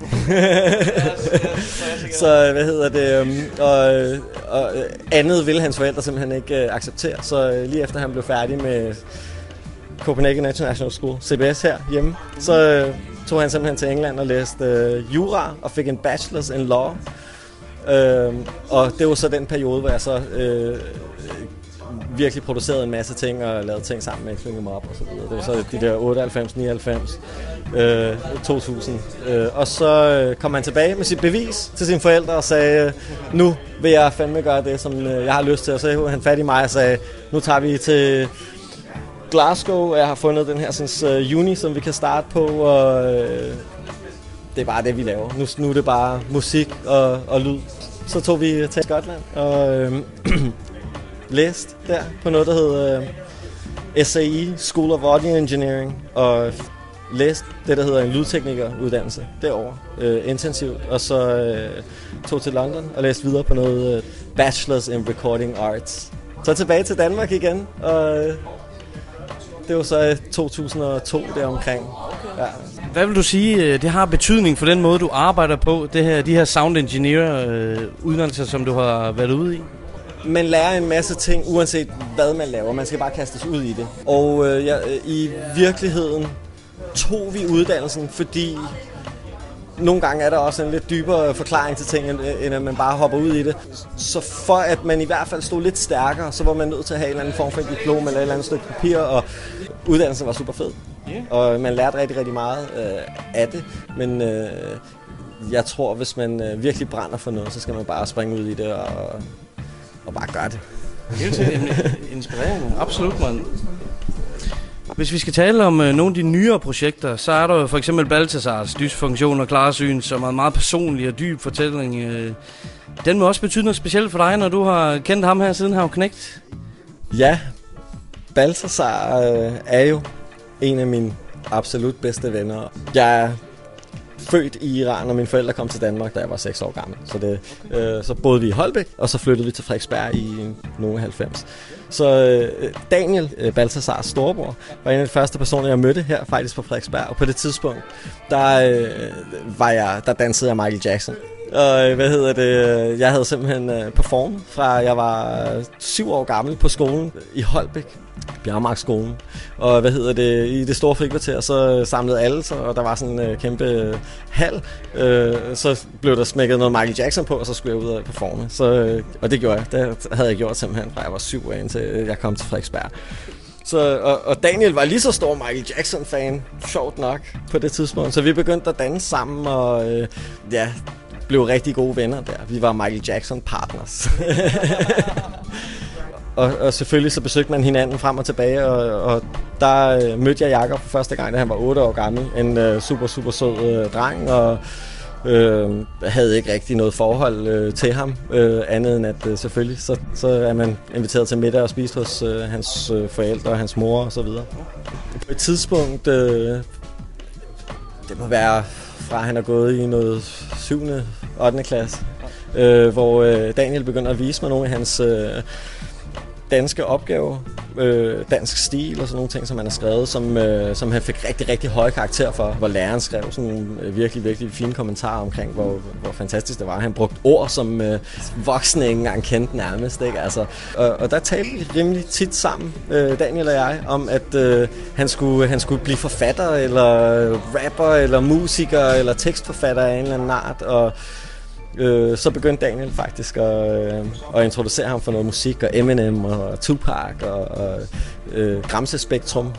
Så hvad hedder det? Øh, og, og andet ville hans forældre simpelthen ikke øh, acceptere. Så øh, lige efter han blev færdig med Copenhagen International School, C B S her hjemme, så øh, tog han simpelthen til England og læste øh, jura og fik en bachelor's in law. Øh, og det var så den periode, hvor jeg så øh, virkelig produceret en masse ting og lavet ting sammen med Xing Em Up og så videre. Det var så de der otteoghalvfems, nioghalvfems, øh, to tusind. Øh, og så øh, kom han tilbage med sit bevis til sine forældre og sagde, nu vil jeg fandme gøre det, som øh, jeg har lyst til. Og så havde han fat i mig og sagde, nu tager vi til Glasgow, og jeg har fundet den her sådan, uh, uni, som vi kan starte på, og øh, det er bare det, vi laver. Nu, nu er det bare musik og, og lyd. Så tog vi til Skotland og øh, læste der på noget, der hedder øh, S A E, School of Audio Engineering, og læste det, der hedder en lydteknikeruddannelse derovre, øh, intensivt, og så øh, tog til London og læste videre på noget øh, Bachelors in Recording Arts. Så tilbage til Danmark igen, og øh, det var så to tusind og to deromkring. Ja. Hvad vil du sige, det har betydning for den måde, du arbejder på, det her, de her sound engineer øh, uddannelser, som du har været ude i? Man lærer en masse ting, uanset hvad man laver. Man skal bare kastes ud i det. Og øh, ja, i virkeligheden tog vi uddannelsen, fordi nogle gange er der også en lidt dybere forklaring til ting, end at man bare hopper ud i det. Så for at man i hvert fald stod lidt stærkere, så var man nødt til at have en eller anden form for et diplom eller et eller andet stykke papir, og uddannelsen var super fed. Yeah. Og man lærte rigtig, rigtig meget øh, af det, men øh, jeg tror, hvis man øh, virkelig brænder for noget, så skal man bare springe ud i det og, og bare gøre det. Helt sikkert inspirerende. Absolut, mand. Hvis vi skal tale om øh, nogle af de nyere projekter, så er der for eksempel Balthazars Dysfunktion og Klarsyn, som er en meget personlig og dyb fortælling. Øh, den må også betyde noget specielt for dig, når du har kendt ham her siden han var knægt. Ja, Balthazar øh, er jo en af mine absolut bedste venner. Jeg er født i Iran, og mine forældre kom til Danmark, da jeg var seks år gammel. Så, det, øh, så boede vi i Holbæk, og så flyttede vi til Frederiksberg i nogle halvfems. Så øh, Daniel, øh, Balthazars storebror, var en af de første personer, jeg mødte her faktisk på Frederiksberg. Og på det tidspunkt, der, øh, var jeg, der dansede jeg Michael Jackson. Og hvad hedder det? Jeg havde simpelthen øh, performet fra jeg var syv år gammel på skolen i Holbæk, Bjergmarksskolen. Og hvad hedder det? I det store frikvarter, så samlede alle sig, og der var sådan en øh, kæmpe øh, hal. Øh, så blev der smækket noget Michael Jackson på, og så skulle jeg ud og performe. Så, øh, og det gjorde jeg. Det havde jeg gjort simpelthen fra jeg var syv år, indtil jeg kom til Frederiksberg. Så, og, og Daniel var lige så stor Michael Jackson-fan, sjovt nok, på det tidspunkt. Så vi begyndte at danse sammen, og øh, ja, blev rigtig gode venner der. Vi var Michael Jackson-partners. og, og selvfølgelig så besøgte man hinanden frem og tilbage, og, og der øh, mødte jeg Jakob for første gang, da han var otte år gammel. En øh, super, super sød øh, dreng, og øh, havde ikke rigtig noget forhold øh, til ham, øh, andet end at øh, selvfølgelig, så, så er man inviteret til middag og spist hos øh, hans øh, forældre og hans mor og så videre. På et tidspunkt, øh, det må være fra han er gået i noget syvende ottende klasse, øh, hvor øh, Daniel begynder at vise mig nogle af hans øh, danske opgaver, øh, dansk stil og sådan nogle ting, som han har skrevet, som, øh, som han fik rigtig, rigtig høje karakter for, hvor læreren skrev sådan nogle øh, virkelig, virkelig fine kommentarer omkring, hvor, hvor fantastisk det var. Han brugte ord, som øh, voksne ikke engang kendte nærmest, ikke? Altså, og, og der talte vi rimelig tit sammen, øh, Daniel og jeg, om at øh, han, skulle, han skulle blive forfatter, eller rapper, eller musiker, eller tekstforfatter af en eller anden art, og Øh, så begyndte Daniel faktisk at, øh, at introducere ham for noget musik, og Eminem og Tupac og, og øh, Gramse Spektrum.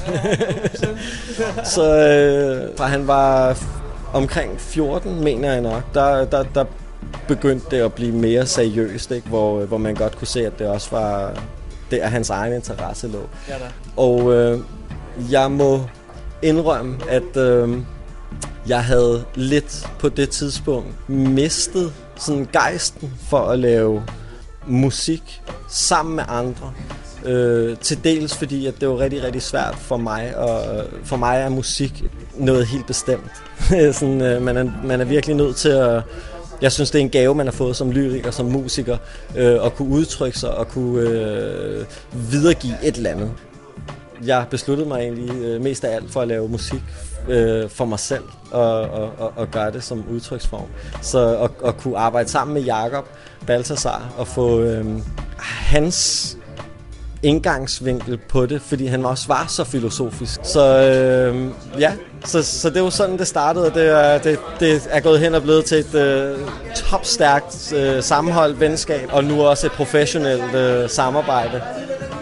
Så øh, fra han var omkring fjorten, mener jeg nok, der, der, der begyndte det at blive mere seriøst, ikke? Hvor, hvor man godt kunne se, at det også var der hans egen interesse lå. Ja, og øh, jeg må indrømme, at øh, jeg havde lidt på det tidspunkt mistet sådan gejsten for at lave musik sammen med andre. Øh, til dels fordi, at det var rigtig, rigtig svært for mig, og for mig er musik noget helt bestemt. sådan, øh, man, er, man er virkelig nødt til at... Jeg synes, det er en gave, man har fået som lyriker, som musiker, øh, at kunne udtrykke sig og kunne øh, videregive et eller andet. Jeg besluttede mig egentlig øh, mest af alt for at lave musik øh, for mig selv og, og, og, og gøre det som udtryksform. Så at, at kunne arbejde sammen med Jakob Balthazar og få øh, hans indgangsvinkel på det, fordi han også var så filosofisk. Så øh, ja, så, så det var sådan, det startede, og det er, det, det er gået hen og blevet til et øh, topstærkt øh, sammenholdt venskab, og nu også et professionelt øh, samarbejde.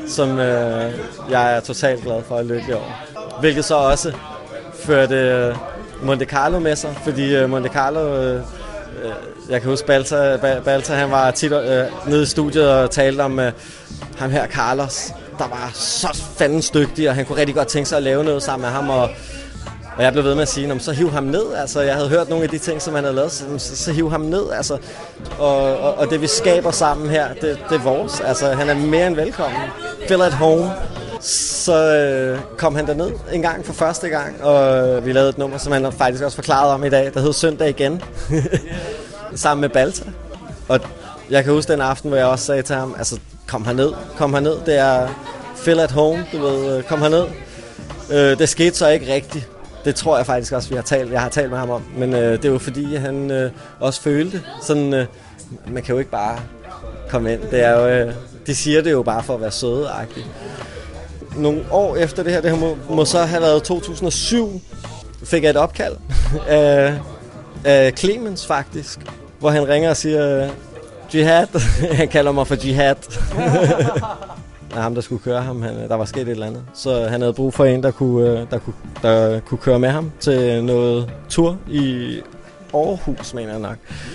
som øh, jeg er totalt glad for at lykkelig over. Hvilket så også førte øh, Monte Carlo med sig, fordi øh, Monte Carlo, øh, øh, jeg kan huske Balta, Balta han var tit øh, nede i studiet og talte om øh, ham her Carlos, der var så fandens dygtig, og han kunne rigtig godt tænke sig at lave noget sammen med ham, og Og jeg blev ved med at sige, så hiv ham ned. Altså, jeg havde hørt nogle af de ting, som han havde lavet, så, så hiv ham ned. Altså, og, og, og det, vi skaber sammen her, det, det er vores. Altså, han er mere end velkommen. Feel at home. Så øh, kom han derned en gang for første gang, og vi lavede et nummer, som han faktisk også forklarede om i dag, der hed Søndag igen. Sammen med Balta. Og jeg kan huske den aften, hvor jeg også sagde til ham, altså, kom herned, kom herned. Det er feel at home, du ved, kom herned. Øh, det skete så ikke rigtigt. Det tror jeg faktisk også, vi har talt, jeg har talt med ham om. Men øh, det er jo fordi, han øh, også følte sådan, øh, man kan jo ikke bare komme ind. Det er jo, øh, de siger det jo bare for at være søde-agtigt. Nogle år efter det her, det må, må så have været to tusind og syv, fik jeg et opkald af, af Clemens faktisk, hvor han ringer og siger, Jihad, han kalder mig for Jihad. Af ham, der skulle køre ham. Han, der var sket et eller andet. Så han havde brug for en, der kunne, der kunne, der kunne køre med ham til noget tur i Aarhus, mener jeg nok.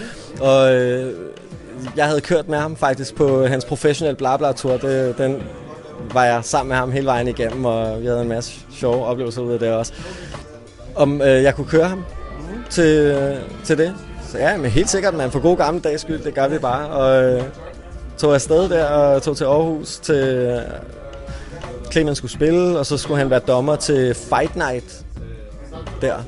Og øh, jeg havde kørt med ham faktisk på hans professionelle Blabla-tur. Det, den var jeg sammen med ham hele vejen igennem, og vi havde en masse sjove oplevelser ud af det også. Om øh, jeg kunne køre ham til, til det. Så ja, men helt sikkert, man for god gamle dags skyld, det gør vi bare. Og øh, tog afsted der og tog til Aarhus til Clemens skulle spille, og så skulle han være dommer til Fight Night der. Yeah.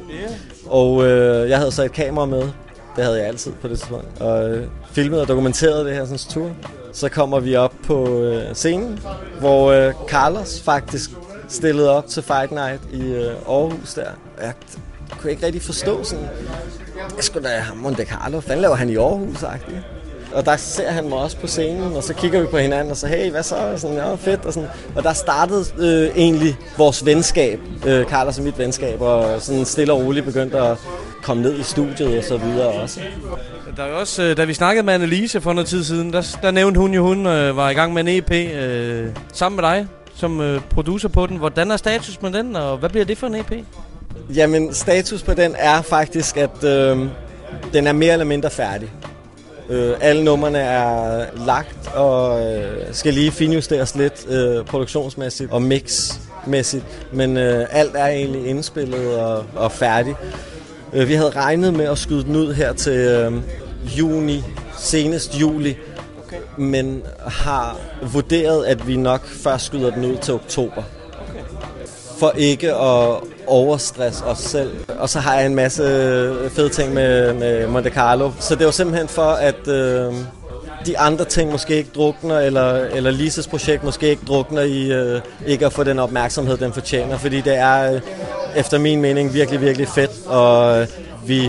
Og øh, jeg havde så et kamera med, det havde jeg altid på det tidspunkt, og øh, filmede og dokumenterede det her sådan tur. Så kommer vi op på øh, scenen, hvor øh, Carlos faktisk stillede op til Fight Night i øh, Aarhus der. Jeg kunne ikke rigtig forstå sådan, jeg skulle da ham Monte Carlo, fanden laver han i Aarhus-agtigt? Og der ser han mig også på scenen, og så kigger vi på hinanden og så, hey, hvad så? Og sådan, ja, fedt. Og, sådan. Og der startede øh, egentlig vores venskab, øh, Carlos og mit venskab, og sådan stille og roligt begyndte at komme ned i studiet og så videre også. Der er jo også, da vi snakkede med Annelise for noget tid siden, der, der nævnte hun jo, hun øh, var i gang med en E P øh, sammen med dig som øh, producer på den. Hvordan er status med den, og hvad bliver det for en E P? Jamen, status på den er faktisk, at øh, den er mere eller mindre færdig. Øh, alle numrene er lagt og øh, skal lige finjusteres lidt øh, produktionsmæssigt og mixmæssigt, men øh, alt er egentlig indspillet og, og færdigt. Øh, vi havde regnet med at skyde den ud her til øh, juni, senest juli, okay. Men har vurderet, at vi nok først skyder den ud til oktober. Okay. For ikke at overstress os selv. Og så har jeg en masse fede ting med, med Monte Carlo. Så det var simpelthen for, at øh, de andre ting måske ikke drukner, eller, eller Lises projekt måske ikke drukner i øh, ikke at få den opmærksomhed, den fortjener. Fordi det er, øh, efter min mening, virkelig, virkelig fedt. Og øh, vi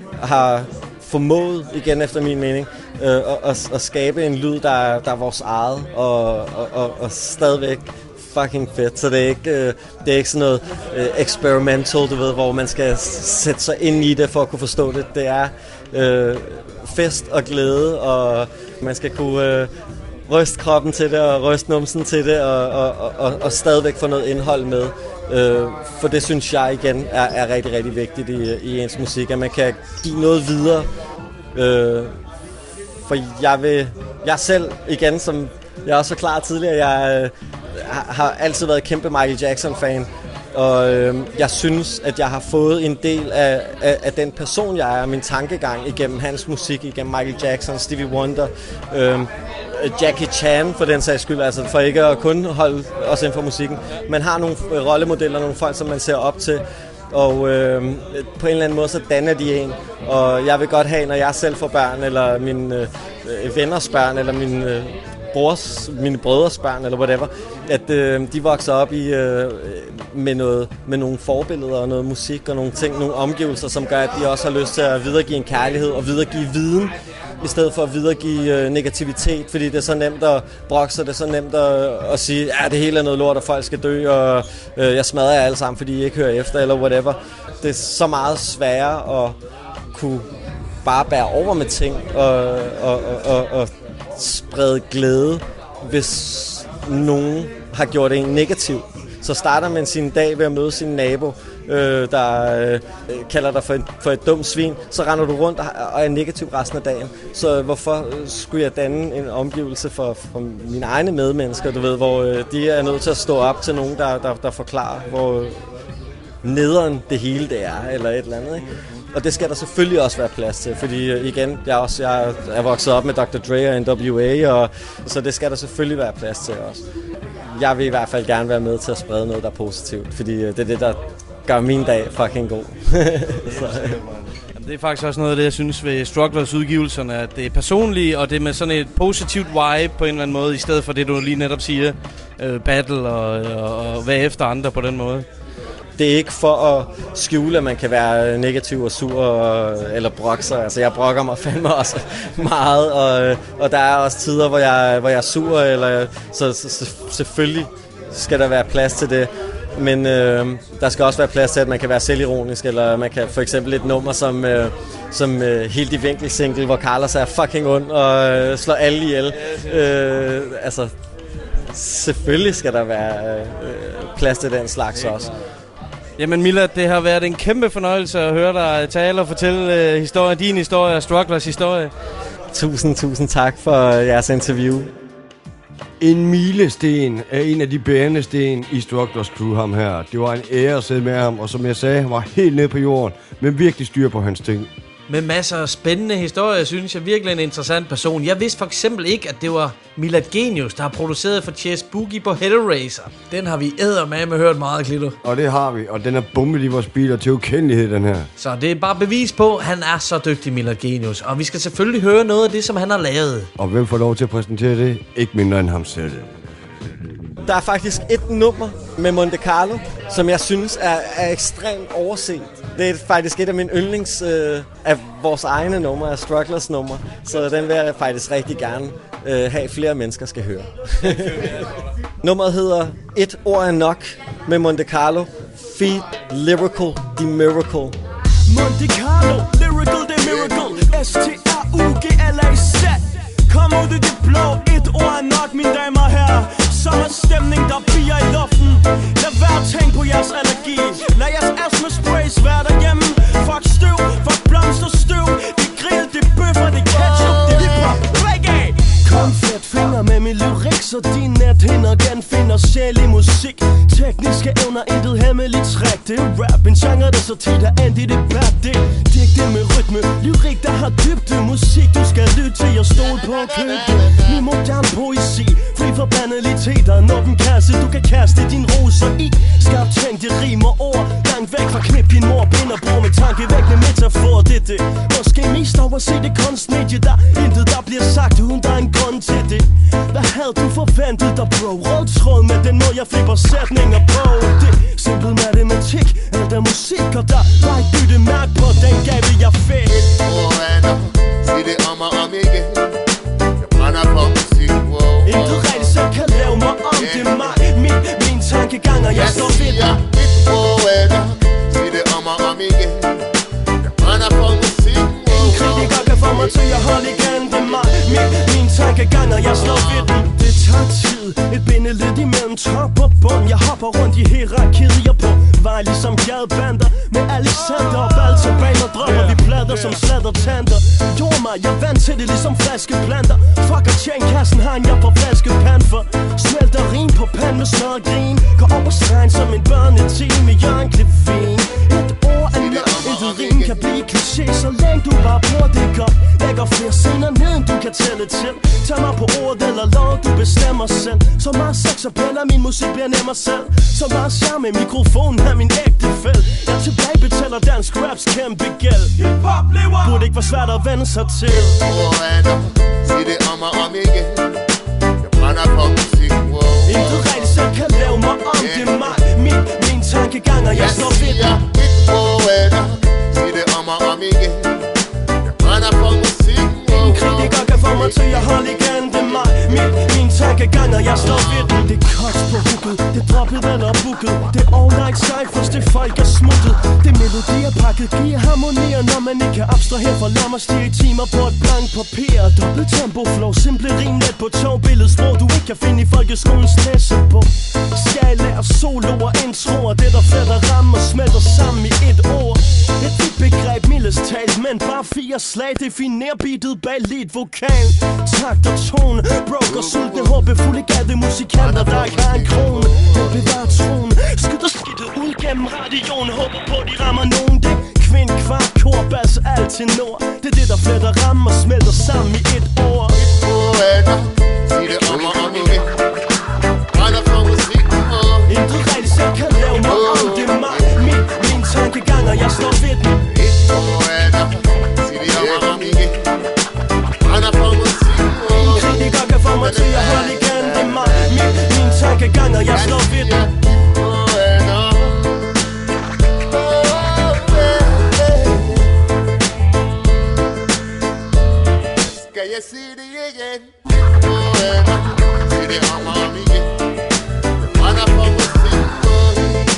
har formået, igen efter min mening, øh, at, at, at skabe en lyd, der, der er vores eget, og, og, og, og stadigvæk fucking fedt, så det er ikke, øh, det er ikke sådan noget øh, experimental, du ved, hvor man skal sætte sig ind i det for at kunne forstå det. Det er øh, fest og glæde, og man skal kunne øh, ryste kroppen til det, og ryste numsen til det, og, og, og, og stadigvæk få noget indhold med. Øh, for det synes jeg igen er, er rigtig, rigtig vigtigt i, i ens musik, at man kan give noget videre. Øh, for jeg vil, jeg selv igen, som jeg også var klar tidligere, jeg øh, har altid været kæmpe Michael Jackson-fan, og øh, jeg synes, at jeg har fået en del af, af, af den person, jeg er, min tankegang igennem hans musik, igennem Michael Jackson, Stevie Wonder, øh, Jackie Chan for den sags skyld, altså for ikke at kun holde os inden for musikken. Man har nogle rollemodeller, nogle folk, som man ser op til, og øh, på en eller anden måde så danner de en, og jeg vil godt have, når jeg selv får børn, eller mine øh, venners børn, eller mine øh, brors, mine brødres børn, eller whatever, at øh, de vokser op i, øh, med, noget, med nogle forbilleder og noget musik og nogle ting, nogle omgivelser, som gør, at de også har lyst til at videregive en kærlighed og videregive viden, i stedet for at videregive øh, negativitet, fordi det er så nemt at brokke sig, det er så nemt at, at sige, ja, det hele er noget lort, og folk skal dø, og øh, jeg smadrer jer alle sammen, fordi I ikke hører efter, eller whatever. Det er så meget sværere at kunne bare bære over med ting, og, og, og, og, og sprede glæde, hvis nogen har gjort en negativ. Så starter man sin dag ved at møde sin nabo, øh, der øh, kalder dig for, en, for et dumt svin. Så render du rundt og, og er negativ resten af dagen. Så hvorfor skulle jeg danne en omgivelse for, for mine egne medmennesker, du ved, hvor øh, de er nødt til at stå op til nogen, der, der, der forklarer, hvor nederen det hele det er, eller et eller andet, ikke? Og det skal der selvfølgelig også være plads til, fordi øh, igen, jeg er, også, jeg er vokset op med doktor Dre og N W A, og, så det skal der selvfølgelig være plads til også. Jeg vil i hvert fald gerne være med til at sprede noget, der er positivt, fordi øh, det er det, der gør min dag fucking god. Så, øh. Det er faktisk også noget af det, jeg synes ved Strugglers udgivelserne, at det er personligt, og det er med sådan et positivt vibe på en eller anden måde, i stedet for det, du lige netop siger, øh, battle og, og, og hvad efter andre på den måde. Det er ikke for at skjule, at man kan være negativ og sur og, eller brokke sig. Altså, jeg brokker mig fandme også meget, og, og der er også tider, hvor jeg, hvor jeg er sur, eller, så, så selvfølgelig skal der være plads til det. Men øh, der skal også være plads til, at man kan være selvironisk, eller man kan for eksempel et nummer som, øh, som øh, Helt i vinkel single, hvor Carlos er fucking ond og øh, slår alle ihjel. Øh, altså, selvfølgelig skal der være øh, plads til den slags også. Jamen Mila, det har været en kæmpe fornøjelse at høre dig tale og fortælle uh, historie, din historie og Strugglers historie. Tusind, tusind tak for jeres interview. En milesten er en af de bærende sten i Strugglers crew, ham her. Det var en ære at sidde med ham, og som jeg sagde, han var helt nede på jorden, men virkelig styr på hans ting. Med masser af spændende historier, synes jeg virkelig en interessant person. Jeg vidste for eksempel ikke, at det var Milad Genius, der har produceret for Chess Boogie på Hellraiser. Den har vi eddermame hørt meget, Klito. Og det har vi, og den er bumpet i vores biler til ukendelighed, den her. Så det er bare bevis på, at han er så dygtig, Milad Genius. Og vi skal selvfølgelig høre noget af det, som han har lavet. Og hvem får lov til at præsentere det? Ikke mindre end ham selv. Der er faktisk et nummer med Monte Carlo, som jeg synes er, er ekstremt overset. Det er faktisk et af mine yndlings øh, af vores egne numre, af Strugglers numre. Så den vil jeg faktisk rigtig gerne øh, have flere mennesker skal høre. Nummeret hedder Et ord er nok med Monte Carlo. Feed Lyrical The Miracle. Monte Carlo, Lyrical The Miracle. S T R U G L A Z. Kom ud i det blå, et ord er nok, mine damer og herrer. Sommerstemning, der bliver i luften. Lad være at tænke på jeres allergi. Lad jeres astma sprays være derhjemme. Fuck støv, fuck blomsterstøv. Det grill, det bøffer, det ketchup, det hiphop, reggae. Kom fedt finger med min lyrik, så din nethinder genfinder sjæl i musik. Tekniske evner, intet hemmeligt træk. Det er rap, en genre, der så tit er endt i debat. Det er digte med rytme, lyrik, der har dybde. Musik, du skal lytte til og stole på at købe. Ny moderne poesi, fri for banaliteter. En åben kasse, du kan kaste din roser i. Skarpt tænk, det rimer ord. Langt væk fra knip din mor, bind og brug med tankevækkende metafor. Det er det, måske mest overset det kunstmedie. Der intet, der bliver sagt, uden der er en grund til det. Hvad havde du forventet dig, bro? Rød tråd med den måde, jeg flipper sætninger på. Det er simpel matematik, eller der musik. Og der var et bytte mærke på den gave, jeg fik. Sig det om og om igen. Jeg brænder på musik. Intet rigtig selv kan lave mig om. Det er mig, min, min tankegang, og jeg står ved dig. Sig det om og om igen. Jeg brænder på musik. En kritiker kan få mig til at holde igen. Det er mig, min, min tankegang, og jeg står ved den. Det tager tid, et bindeled imellem top og bund. Jeg hopper rundt i hierarkiet, jeg på vej ligesom gadebander. Med Alexander og Baltaban og drømmer vi plader som sladder tanter. Jord mig, jeg er vant til det ligesom flaskeplanter. Fuck og tjen kassen, har en jeg på flaskepan for. Smelter rim på pan med smør og grin. Går over stregen som en børneteam med Jørgen Klevin. Et ord er nok, intet rim kan blive kliché. Så længe du bare bruger det godt. Lægger flere scener ned, end du kan tælle til. Tag mig på ordet eller lov, du bestemmer selv. Så meget sex og piller, min musik bliver nemmere selv. Så meget charme med mikrofonen er min ægte fæld. Jeg tilbage betaler dansk raps kæmpe gæld. Hip-hop lever. Burde ikke være svært at vende sig til. Sig det om og om igen. Jeg brænder på musik. Intet rigtig selv kan lave mig om. Det er mig, min, min tankegang, og jeg står ved dig. Sig det om og om igen. Jeg brænder på musik. En kritiker kan få mig til at holde igen. Det er mig, min, min tankegang, og jeg står ved den. Det er kost på hooket, det er droppet eller booket. Det er all night Cyphers, det folk er smuttet. Det melodier pakket giver harmonier, når man ikke kan abstrahere for lammer stiger i timer på et blank papir. Dobbelt tempo flow, simple rim let på togbilledet sprog du ikke kan finde i folkeskolens læsebog. Skal lære solo og introer, det der fletter rammer smelter sammen i et ord. Et vidt begreb, mildest talt, men bare fire slag definerer beatet bag lead vokal. Takt og tone, broker sultne, håbefulde gatte musikanter, der ikke har en krone. Den bevarer troen, skyder skidtet ud gennem radioen, håber på de rammer nogen. Det kvind, kvart, kor, bass, alt til nord. Det er det der fletter rammer smelter sammen i et ord. Poeta, sig det om og om igen. Brænder for musikken og intet rigtig selv kan lave mig om, det er mig. Min, min tankegang, og jeg står ved den. Et poeta, sig det om og om igen. Brænder for musikken og ingen kritiker kan få mig til at holde igen, det er mig. Min, min tankegang, og jeg står ved den. Skal jeg sige det igen? Poeta, sig det om og om igen. Brænder for musikken og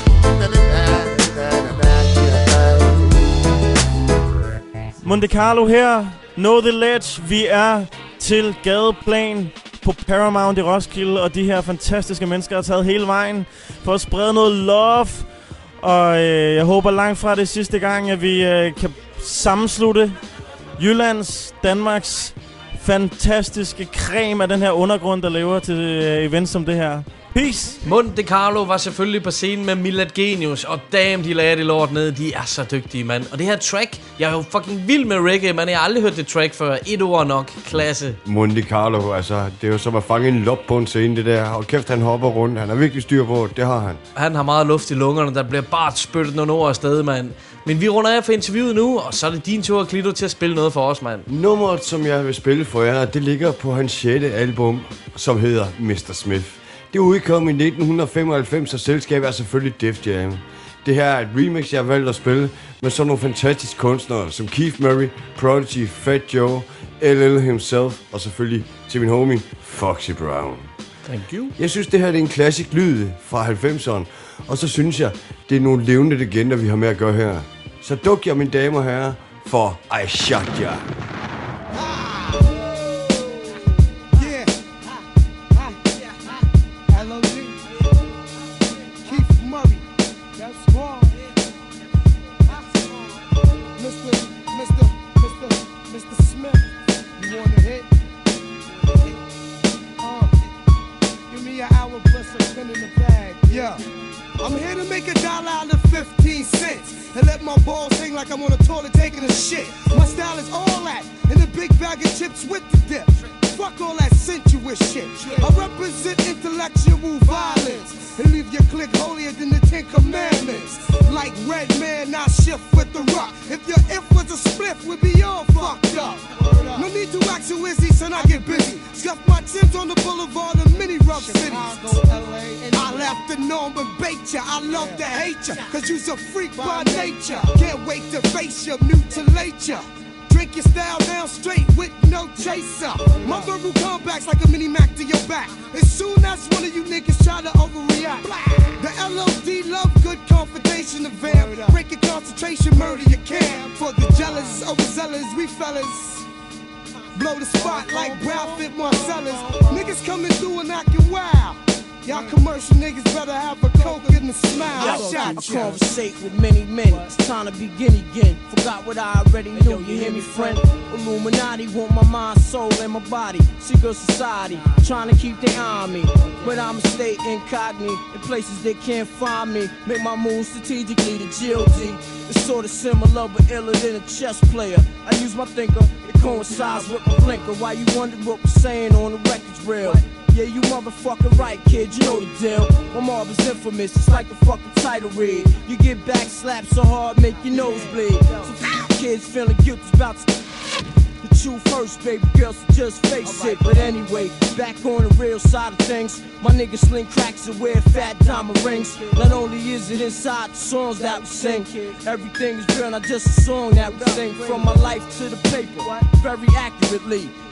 Monte Carlo her, Know The Ledge. Vi er til Gadeplan på Paramount i Roskilde, og de her fantastiske mennesker har taget hele vejen for at sprede noget love. Og øh, jeg håber langt fra det sidste gang, at vi øh, kan sammenslutte Jyllands, Danmarks fantastiske creme af den her undergrund, der lever til øh, events som det her. Peace! Monte Carlo var selvfølgelig på scenen med Milad Genius, og damn, de lagde det lort ned. De er så dygtige, mand. Og det her track, jeg er jo fucking vild med reggae, men jeg har aldrig hørt det track før. Et ord nok. Klasse. Monte Carlo, altså, det er jo som at fange en lop på en scene, det der. Og kæft, han hopper rundt. Han har virkelig styr på det, det har han. Han har meget luft i lungerne, der bliver bare spyttet nogle ord afsted, mand. Men vi runder af for interviewet nu, og så er det din tur, Klito, til at spille noget for os, mand. Nummeret, som jeg vil spille for jer, det ligger på hans sjette album, som hedder mister Smith. Det udkom i nitten femoghalvfems, og selskabet er selvfølgelig Def Jam. Det her er et remix, jeg har valgt at spille med sådan nogle fantastiske kunstnere som Keith Murray, Prodigy, Fat Joe, L L himself og selvfølgelig til min homie Foxy Brown. Thank you. Jeg synes, det her er en klassisk lyd fra halvfemserne, og så synes jeg, det er nogle levende legender, vi har med at gøre her. Så duk jer, mine damer og herrer, for I Shot Ya. I'm here to make a dollar out of fifteen cents and let my balls hang like I'm on a toilet taking a shit. My style is all that and a big bag of chips with the dip. Fuck all that sensuous shit. I represent intellectual violence and leave your clique holier than the Ten Commandments. Like Red Man, I shift with the rock. If your if was a spliff, we'd be all fucked up. No need to act so easy, son, I get busy. Scuff my tins on the boulevard of many rough cities. I left the norm and bait ya. I love to hate ya, cause you's a freak by nature. Can't wait to face ya, mutilate ya. Drink your style down straight with no chaser. My verbal comebacks like a mini Mac to your back. As soon as one of you niggas try to overreact, the L O D love good confrontation of vamp. Break your concentration, murder your camp. For the jealous, overzealous, we fellas blow the spot like Ralph at Marcellus. Niggas coming through and acting wild. Y'all commercial niggas better have a coke and a smile. I shot I conversate with many men. It's time to begin again. Forgot what I already knew. You hear me, friend? Illuminati want my mind, soul, and my body. Secret society trying to keep their eye on me, but I'ma stay incognito in places they can't find me. Make my moves strategically to G O D. It's sort of similar but iller than a chess player. I use my thinker. It coincides with my blinker. Why you wondering what we're saying on the record's real? Yeah, you motherfucking right, kid, you know the deal. My mob is infamous, it's like the fucking title read. You get back slapped so hard, make your nose bleed. So kids feeling guilty about to the truth first, baby girl, so just face it. But anyway, back on the real side of things, my niggas sling cracks and wear fat diamond rings. Not only is it inside the songs that we sing, everything is real, not just a song that we sing. From my life to the paper, very accurately.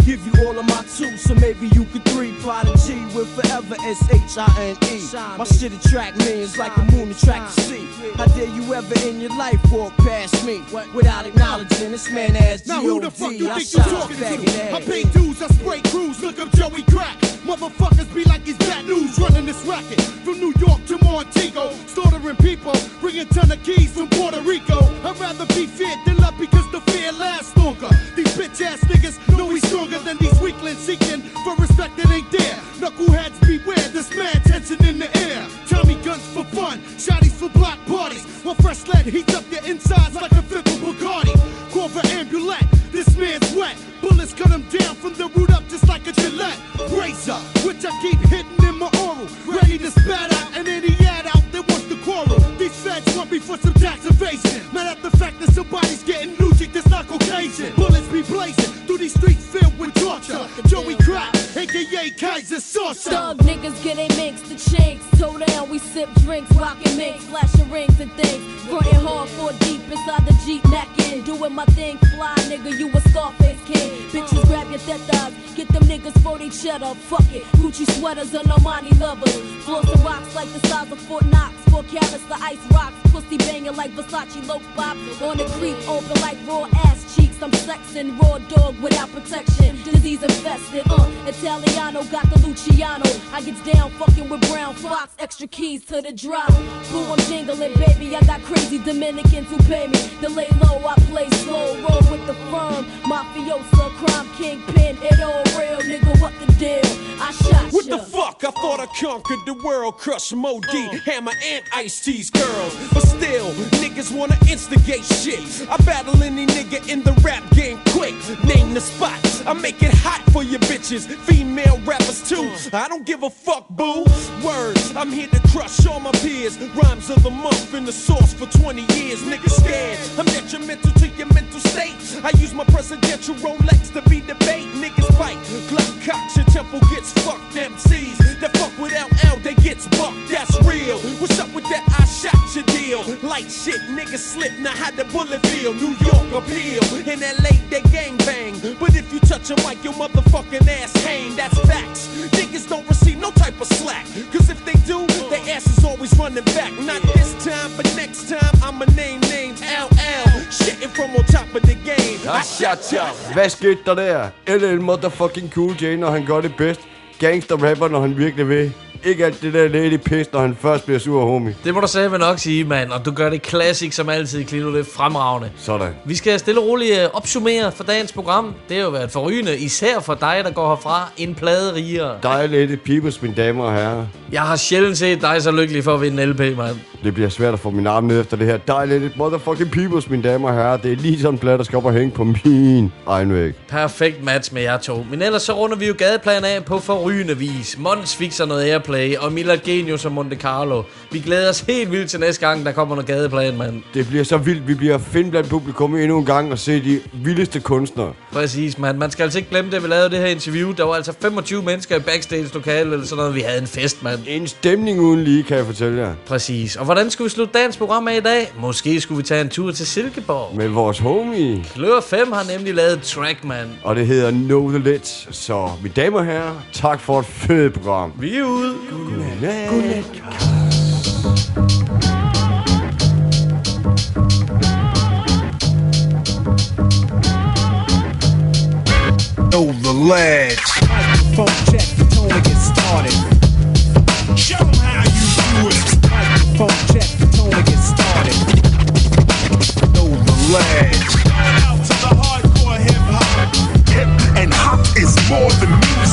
give you all of my two, so maybe you could three. Prodigy with forever S H I N E. My shit attract millions like the moon attract the sea. How dare you ever in your life walk past me without acknowledging this man ass G O D? Now who the fuck you think you talking to? I pay dues, I spray crews, look up Joey Crack. Motherfuckers be like he's bad news, running this racket. From New York to Montego, slaughtering people, bringing ton of keys from Puerto Rico. I'd rather be feared than love because the fear lasts longer. These bitch ass niggas know we stronger than these weaklings seeking for respect that ain't there. Knuckleheads beware, this mad tension in the air. Tommy guns for fun, shotties for block parties. While fresh lead heats up your insides like a fifth of Bacardi. Corver ambulance, this man's wet. Bullets cut him down from the root up just like a Gillette razor, which I keep hitting in my oral, ready to spat out and any ad out that wants to quarrel. These feds want me for some tax evasion. Mad at the fact that somebody's getting Nujic that's not Caucasian. Bullets be blazing through these streets filled with torture. Joey Crack, aka Kaiser Saucer. Thug niggas get a mix, the chinks. Toe down, we sip drinks, rockin' minks, flashing rings and things. Frontin' hard, four deep inside the Jeep neckin'. Doing my thing, fly nigga, you a Scarface king. Bitches grab your tetas, get them niggas forty cheddar. Fuck it, Gucci sweaters and Armani lovers. Flossing rocks like the size of Fort Knox. Four carats, the ice rocks. Pussy banging like Versace low pop. On the creep, open like raw ass cheeks. I'm sexing, raw dog without protection. Disease infested, uh. Italiano got the Luciano. I gets down fucking with Brown Fox. Extra keys to the drop. Boo, I'm jingling, baby. I got crazy Dominicans who pay me. To lay low, I play slow. Roll with the firm. Mafiosa, crime kingpin. It all real, nigga. What the deal? I shot What ya. the fuck? I thought I conquered the world. Crush M O D, Hammer and Ice-T's girls. But still, niggas wanna instigate shit. I battle any nigga in the rap game quick. Name the spot. I make it hot for your bitches. Female rappers too. I don't give a fuck, boo. Words, I'm here to crush all my peers. Rhymes of the month in the source for twenty years. Niggas scared. I'm detrimental to your mental state. I use my presidential Rolex to be debate. Niggas fight. Glock cocks, your temple gets fucked. M Cs that fuck with L L, they gets bucked. That's real. What's up with that? I shot your deal. Light shit, niggas slip. Now how the bullet feel? New York appeal. In L A, they gang bang. But if you touch a mic, your motherfucking ass hang. That's facts. Niggas don't receive no type of slack. Cause if they do, their ass is always running back. Not this time, but next time, I'ma name names. L L, shitting from on top of the game. I shot ya. Hvad skete der der? L L motherfucking Cool J, når han gør det bedst. Gangster-rapper, når han virkelig vil. Ikke alt det der lady pis, når han først bliver sur, homie. Det må du sige nok sige, mand. Og du gør det classic som altid, Klito. Det er fremragende. Sådan. Vi skal stille og roligt opsummere for dagens program. Det har jo været forrygende, især for dig, der går herfra en plade rigere. Dejlige peoples, mine damer og herrer. Jeg har sjældent set dig så lykkelig for at vinde en L P, mand. Det bliver svært at få min arm ned efter det her. Dejlige motherfucking peoples, mine damer og herrer. Det er lige sådan en plade, der skal op og hænge på min egen væg. Perfekt match med jer to. Men ellers så runder vi jo gadeplan af på forrygende vis. Mons fikser noget airplay, og Mila Genius og Monte Carlo. Vi glæder os helt vildt til næste gang, der kommer noget gadeplan, mand. Det bliver så vildt. Vi bliver finde blandt publikum endnu en gang og se de vildeste kunstnere. Præcis, mand. Man skal altså ikke glemme det, vi lavede det her interview. Der var altså femogtyve mennesker i backstage-lokalet eller sådan noget. Vi havde en fest, mand. En stemning uden lige, kan jeg fortælle jer. Præcis. Og hvordan skulle vi slutte dagens program af i dag? Måske skulle vi tage en tur til Silkeborg. Med vores homie. Klør fem har nemlig lavet track, mand. Og det hedder Know The Lit. Så, mine damer og herrer, tak for et fedt program. Vi er ude. Godnat. Godnat. Know the lads. Phone check, the tone to get started. Show them how you do it. Phone check, the tone to get started. Know the lads. Out to the hardcore hip hop. Hip and hop is more than music.